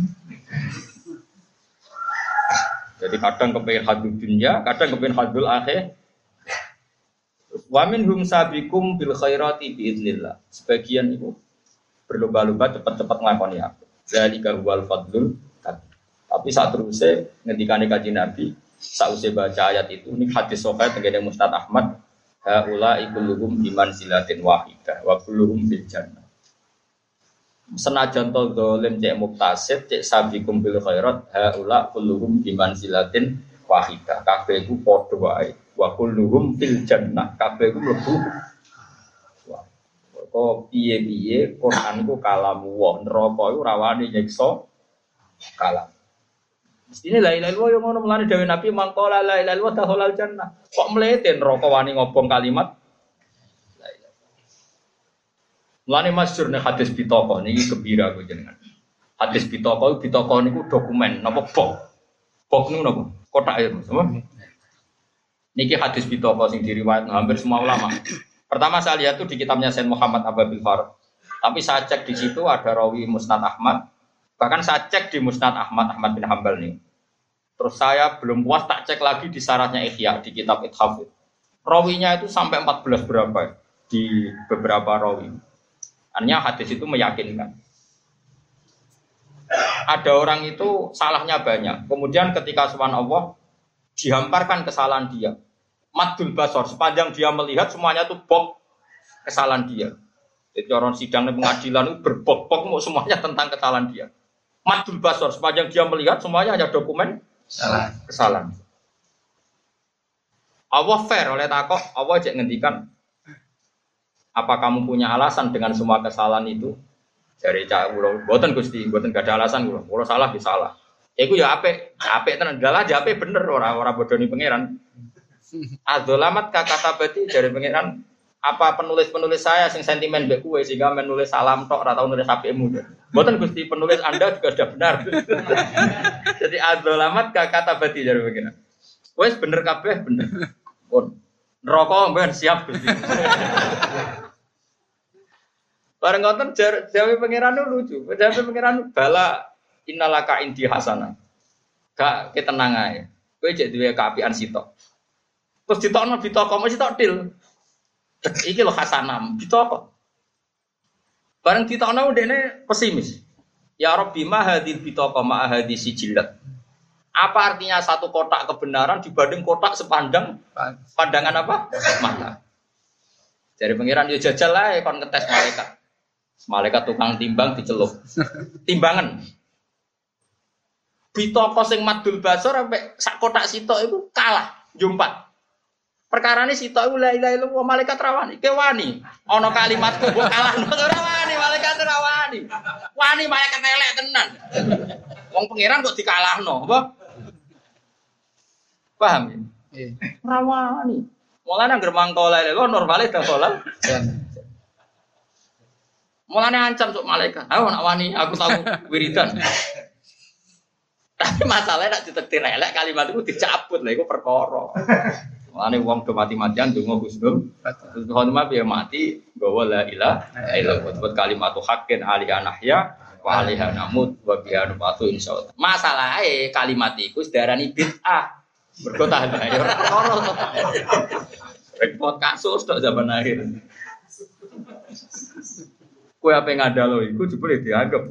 Jadi kadang kepengin hadul dunya, kadang kepengin hadul akhir. Wa minhum sabiqum bil khairati biiznillah. Sebagian itu berlomba-lomba cepat-cepat nglakoni apa. Zalika huwal fadlul kabir. Tapi saat terusé ngendikane Kanjeng Nabi, sausé baca ayat itu ini hadis sahih tengene Mustad Ahmad, haula ikuluhum biman silatin wahidah wa kulluhum bil jannah. Senajan to dolim cek muktasid cek sabiqum bil khairat haula kulluhum biman silatin wahidah. Kabeh iku padha wae. Wa kulluhum fil jannah. Kabeh iku mlebu. Wah. Kok piye-piye Quran iku kalamu wa neraka iku rawane nyiksa kalam. Mestine la ilaha illallah yo ngono mulane dawuh Nabi mangkola la ilaha illallah dakhalal jannah. Kok mlete neraka wani ngobong kalimat la ilaha. Mulane masyhur nek hadis pitaka niki gembira kok jenengan. Hadis pitaka niku dokumen napa bok. Bok niku napa? Kotak ya, Mas. Niki hadis pitaka sing diriwayat hampir semua ulama. Pertama saya lihat tuh di kitabnya Sayyid Muhammad Ababil Farad. Tapi saya cek di situ ada rawi Musnad Ahmad. Bahkan saya cek di Musnad Ahmad bin Hambal nih. Terus saya belum puas tak cek lagi di syaratnya Ihya di kitab Ithafid. Rawinya itu sampai 14 berapa di beberapa rawi. Artinya hadis itu meyakinkan. Ada orang itu salahnya banyak. Kemudian ketika subhanallah dihamparkan kesalahan dia. Maddul basor sepanjang dia melihat semuanya itu bok kesalahan dia. Jadi orang sidang di pengadilan itu berbok-bok mau semuanya tentang kesalahan dia. Madul basor sepanjang dia melihat semuanya hanya dokumen kesalahan. Allah fair oleh takok, Allah cek ngendikan apa kamu punya alasan dengan semua kesalahan itu? Dari cak kula, mboten Gusti, mboten gak ada alasan kula. Kula salah ya salah. Iku ya apik tenan dalah ya apik bener ora bodoni pangeran. Adzolamat kata berarti dari pangeran apa penulis-penulis saya sing sentimen mbek kowe sehingga menulis salam tok ora tau nulis apikmu. Mboten Gusti, penulis Anda juga sudah benar. Jadi adzolamat kata berarti dari pangeran. Wes bener kabeh bener. Pun neraka mben siap Gusti. Bareng ngoten jawe pangeran lucu. Jawe pangeran bala innalaka indi hasanah. Gak ketenang ae. Kowe jek duwe kaapian sitok. Terus ditokno bitoko mesti tok til. Iki lho hasanah bitoko. Bareng ditokno ndekne pesimis. Ya Rabbi ma hadil bitoko ma hadis sijilat. Apa artinya satu kotak kebenaran dibanding kotak sepandang pandangan apa? Mata. Jadi pangeran yo jajal ae kon ngetes malaikat. Malaikat tukang timbang dicelup. Timbangan. Bitoko sing madul basor sampai sak kotak sitok itu kalah jumpat. Perkarane sitok iku la ilaha illallah malaikat rawani. Ke wani. Ana kalimatku mbok kalahno ora wani, malaikat ora wani. Wani malaikat elek tenan. Wong pangeran kok dikalahno, apa? Paham ya? Nggih. Ora wani. Mulane anggere mangko la ilaha illallah normale dak salat. Mulane ancam sok malaikat. Ayo nak wani aku tahu wiridan. Tapi masalahnya nak ditektir elek kalimat itu dicabut lah iku perkara. Mulane wong do mati-matian ndonga husnul. Terus khotimah piye mati gawa la ilaha illallah buat kalimat haqqin alaiha nahya wa alaiha namut wa biha nubatu insyaallah. Masalahe kalimat iku sedarani bid'ah. Mergo tahan ae ora perkara to. Repot kasus tok zaman akhir. Kowe ape ngadalo iku jebule dianggap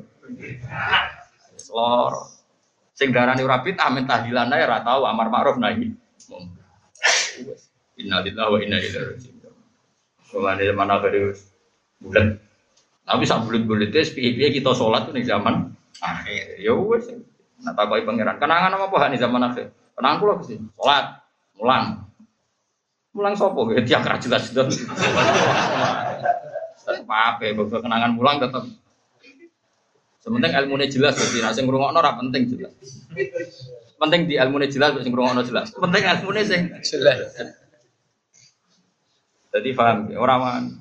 lor. Sing darani ora bid'ah men tahdilan ae ora tau amar ma'ruf nahi. Innalillahi wa inna ilaihi raji'un. Mulane zaman akhir bulan. Tapi sak bulan-bulane piye-piye kita salat ning zaman akhir. Ya wis. Nah takoki pangeran. Kenangan apa hak ning zaman akhir? Kenangan kula Gusti. Salat, mulang. Mulang sapa? Tiang ra jelas-jelas. Tetep apa ya, kenangan mulang tetep. Sementing ilmunya jelas, jadi nak sing ngrungokno ora penting jelas. Penting di ilmunya jelas, sing ngrungokno jelas. Penting ilmunya sing jelas. Jadi paham, orang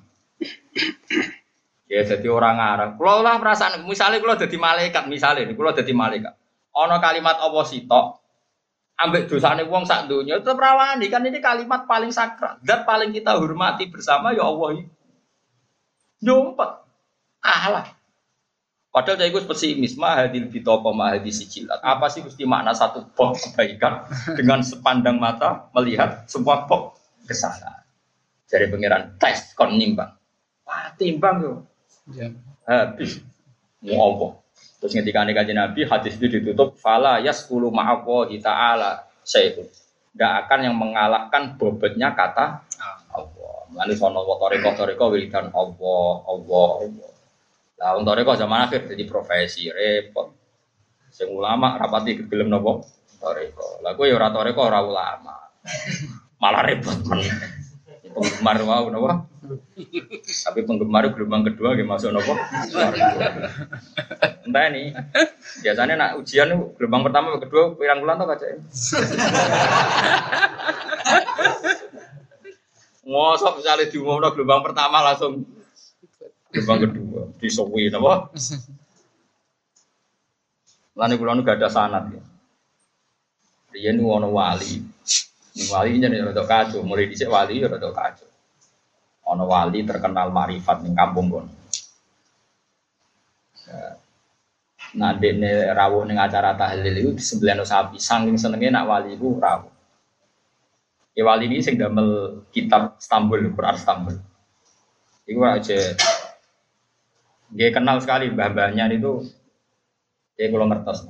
ya jadi orang ngarang. Kalau lah perasaan, misalnya kalau jadi malaikat, misalnya kalau jadi malaikat, ono kalimat apa sitok, ambek dosane wong sak donya tetep rawani kan ini kalimat paling sakral, zat paling kita hormati bersama ya Allah. Nyumpet kalah. Padahal saya ikut pesimis mahadil bitoko mahadis sijilat. Apa sih mesti makna satu box kebaikan dengan sepandang mata melihat semua box kesalahan. Dari pangeran tes kon nimbang. Wah, timbang yo. Ya. Habis. Mau apa? Terus ngendikane Kanjeng Nabi hadis itu ditutup fala yasqulu ma'allahi ta'ala syai'un. Enggak akan yang mengalahkan bobotnya kata Allah. Mulane sono toriko wiridan Allah. Lah untuk toriko zaman akhir jadi profesi repot. Sing ulama rapati gelem napa? Toriko. Lah kowe ya ora toriko ora ulama. Malah repot men. Penggemar mau napa? Tapi penggemar gelombang kedua nggih masuk napa? Entah ini. Biasanya nak ujian gelombang pertama kedua pirang bulan to kacake. Ngosok misalnya diumumno gelombang pertama langsung gelombang kedua disuwi napa? Lan kula nu gak ada sanad ya. Riyen ono wali. Wali jenenge rada kacau, mulai dhisik wali rada kacau. Ana wali terkenal marifat ning kampung kono. Nah, dene rawuh ning acara tahlil iku disembelihno sapi, saking senenge nak wali iku rawuh. Ya wali ini sing damel kitab Istanbul, Quran Istanbul. Iku aja dia kenal sekali mbah-mbahnya itu dia kula ngertos.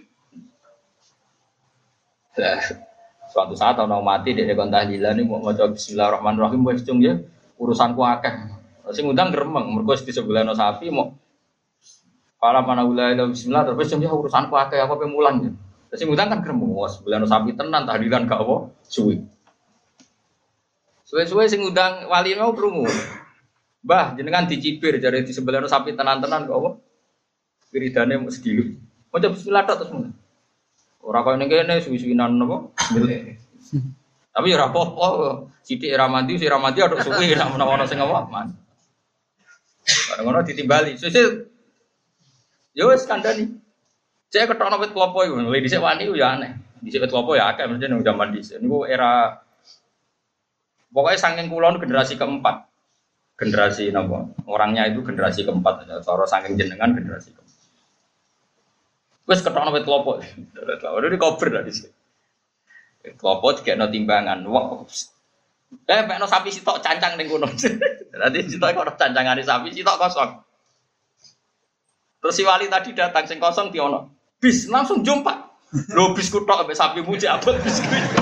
Suatu saat orang mati dia kon tahlilan ini mau maca bismillahirrahmanirrahim wis cung ya urusanku akeh. Sing ngundang gremeng, mergo di sebelahno sapi mau pala manawula bismillah terus jam urusanku akeh aku pe mulang. Terus sing ngundang kan gremeng, wes sebelahno sapi tenan tahlilan gak apa suwi. Suwe-suwe sing ngundang wali mau krungu. Mbah, jenengan dicibir jare di sebelahno sapi tenan-tenan kok apa? Wiridane mesti segili. Maca bismillah tok terus mun. Ora koyo ning kene suwi-suwinan napa? Tapi ora apa-apa. Sithik ra mandi, sira mandi atok suwi nek menawa sing apa? Man. Bareng ngono ditimbali. Sesuk yo wis kandhani. Cek ketokno wit klopo iku. Lha dhisik wani ku ya aneh. Dhisik wit klopo ya akeh mesti nang jaman dhisik. Niku era pokoknya saking kulon generasi keempat. Generasi napa? Orangnya itu generasi keempat aja. Cara saking jenengan generasi keempat. Wis ketokno wit klopo. Udah dikober lah dhisik. Klopo dikekno timbangan. Wah. Pekno sapi sitok cancang ning kono. Nanti sitok kok cancangane sapi sitok kosong. Terus si wali tadi datang sing kosong diono. Bis langsung jumpa. Lho bis kutok ambek sapi muji abot bis.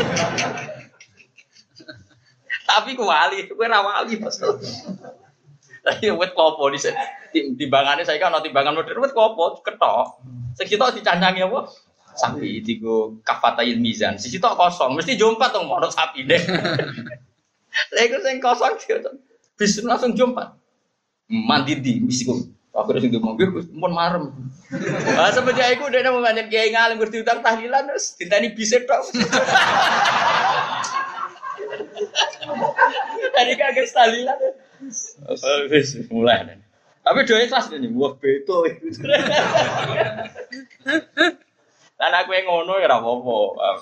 Tapi ku wali, kowe ra wali Mas. Lah wit klopo di timbangane saiki ana timbangan modern wit klopo ketok. Sing sitok dicancangi apa? Sapi digo kafatayil mizan. Sisi tok kosong, mesti jumpa tong ono sapine. Lha iku sing kosong bis langsung jumpa. Mandi di misiku. Aku sing ngomong mun marem. Ah semenjak iku dene mau nganjen kiai ngalim ngerti utang tahlilan terus ditani bis tok. Tadi kaget tahlilan. Wis mulai. Tapi doa ikhlas nih, wah beto. Lan aku yang ngono ya ora apa-apa.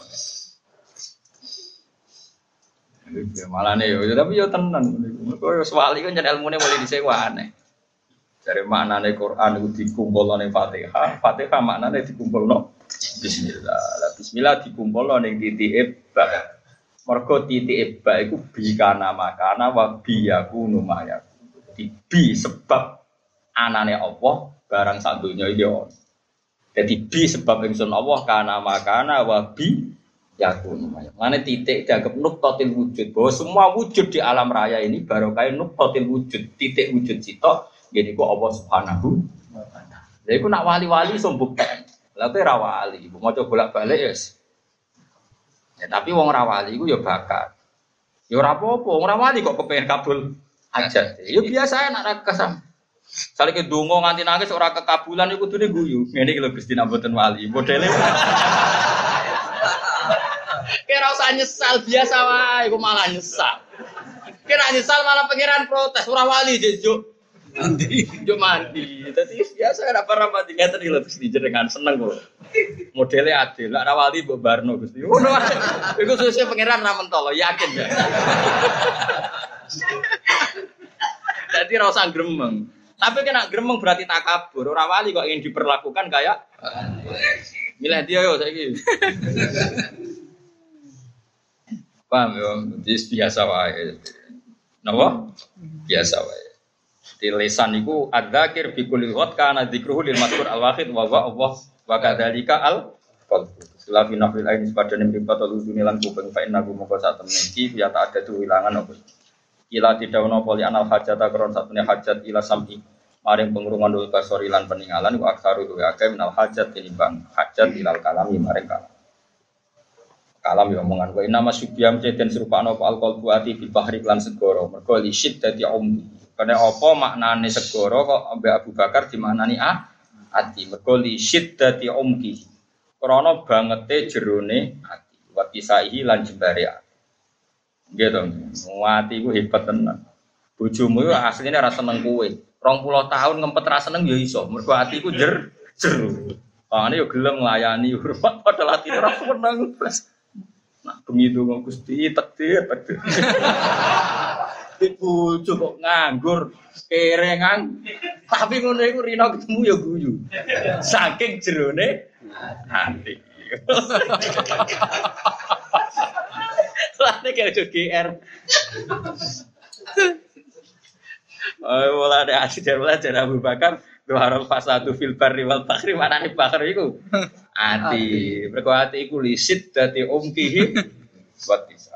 Malah nih, tapi yo tenan. Kok yo swali kan jan ilmune mulai disewane. Dari maknane Quran iku dikumpulno ning Fatihah, Fatihah maknane dikumpulno bismillah. Lah bismillah dikumpulno ning titike ba. Mergo titike ba iku bi kana makana wa bi yakunu maya. Bi sebab anane Allah barang sak donya iki ono. Jadi bi sebab ingsun Allah kana makana wa bi yakun. Mane titik dianggap nuqtatil wujud. Bahwa semua wujud di alam raya ini barokah nuqtatil wujud, titik wujud sitok ngene ku Allah Subhanahu wa taala. Lha iku nak wali-wali iso mbukten. Lah kowe ra wali, mbok maca bolak-balik ya. Ya tapi wong ra wali iku ya bakat. Ya ora apa-apa, wong ra wali kok kepengin kabul hajat. Ya biasa nak ra kesam. Sale ke donga nganti nangis ora kekabulan iku kudune guyu. Ngene iki lho Gusti nak mboten wali. Modele. Kira usah nyesal biasa wae, iku malah nyesal. Kira nyesal malah pangeran protes ora wali juk. Mandi. Juk mandi. Dadi biasa ora pernah mandi ngeten iki lho Gusti jenengan seneng kok. Modele adil, nek ora wali mbok barno Gusti. Ngono wae. Iku sesuk pangeran ra mentolo, yakin ya. Dadi ora usah gremeng. Tapi kena gremeng berarti takabur. Ora wali kok ingin diperlakukan kayak milih dia yo saiki. Paham yo, biasa wae. Napa? Biasa wae. Di lisan iku adzakir bi kulli ghat kana dzikruhu lil mazkur al wahid wa huwa Allah wa kadzalika al qalb. Selafi nafil ain sepadane mripat ludune lan kuping fa inna gum moko sak temen iki ya tak ada wilangan apa. Ila didawono poli anal hajata kron satune hajat ila sam'i maring pengrungan dul basori lan peninggalan wa aksaru wa akeh minal hajat tinimbang hajat ilal kalami maring kalam ya omongan wa inna masyubiyam ceden serupakno apa alqol buati bil bahri lan segara mergo li syiddati ummi kene apa maknane segara kok ambek Abu Bakar dimaknani ati mergo li syiddati ummi krana bangete jerone ati wa kisaihi lan jembare nggih to ati ku hebat tenan bojomu yo asline ora seneng kowe 20 tahun ngempet ra seneng ya iso mergo atiku jero pangane yo gelem nglayani hormat padahal atine ora seneng nah begitu kok Gusti takdir bojo kok nganggur kerengan tapi ngono iku rino ketemu ya guyu saking jerone ati lane kaya GR wala ada asyik belajar Abu Bakar Tuharul fasadu fil barri wal bahri manane bakar iku ati mergo ati iku lisit dadi umkihi buat bisa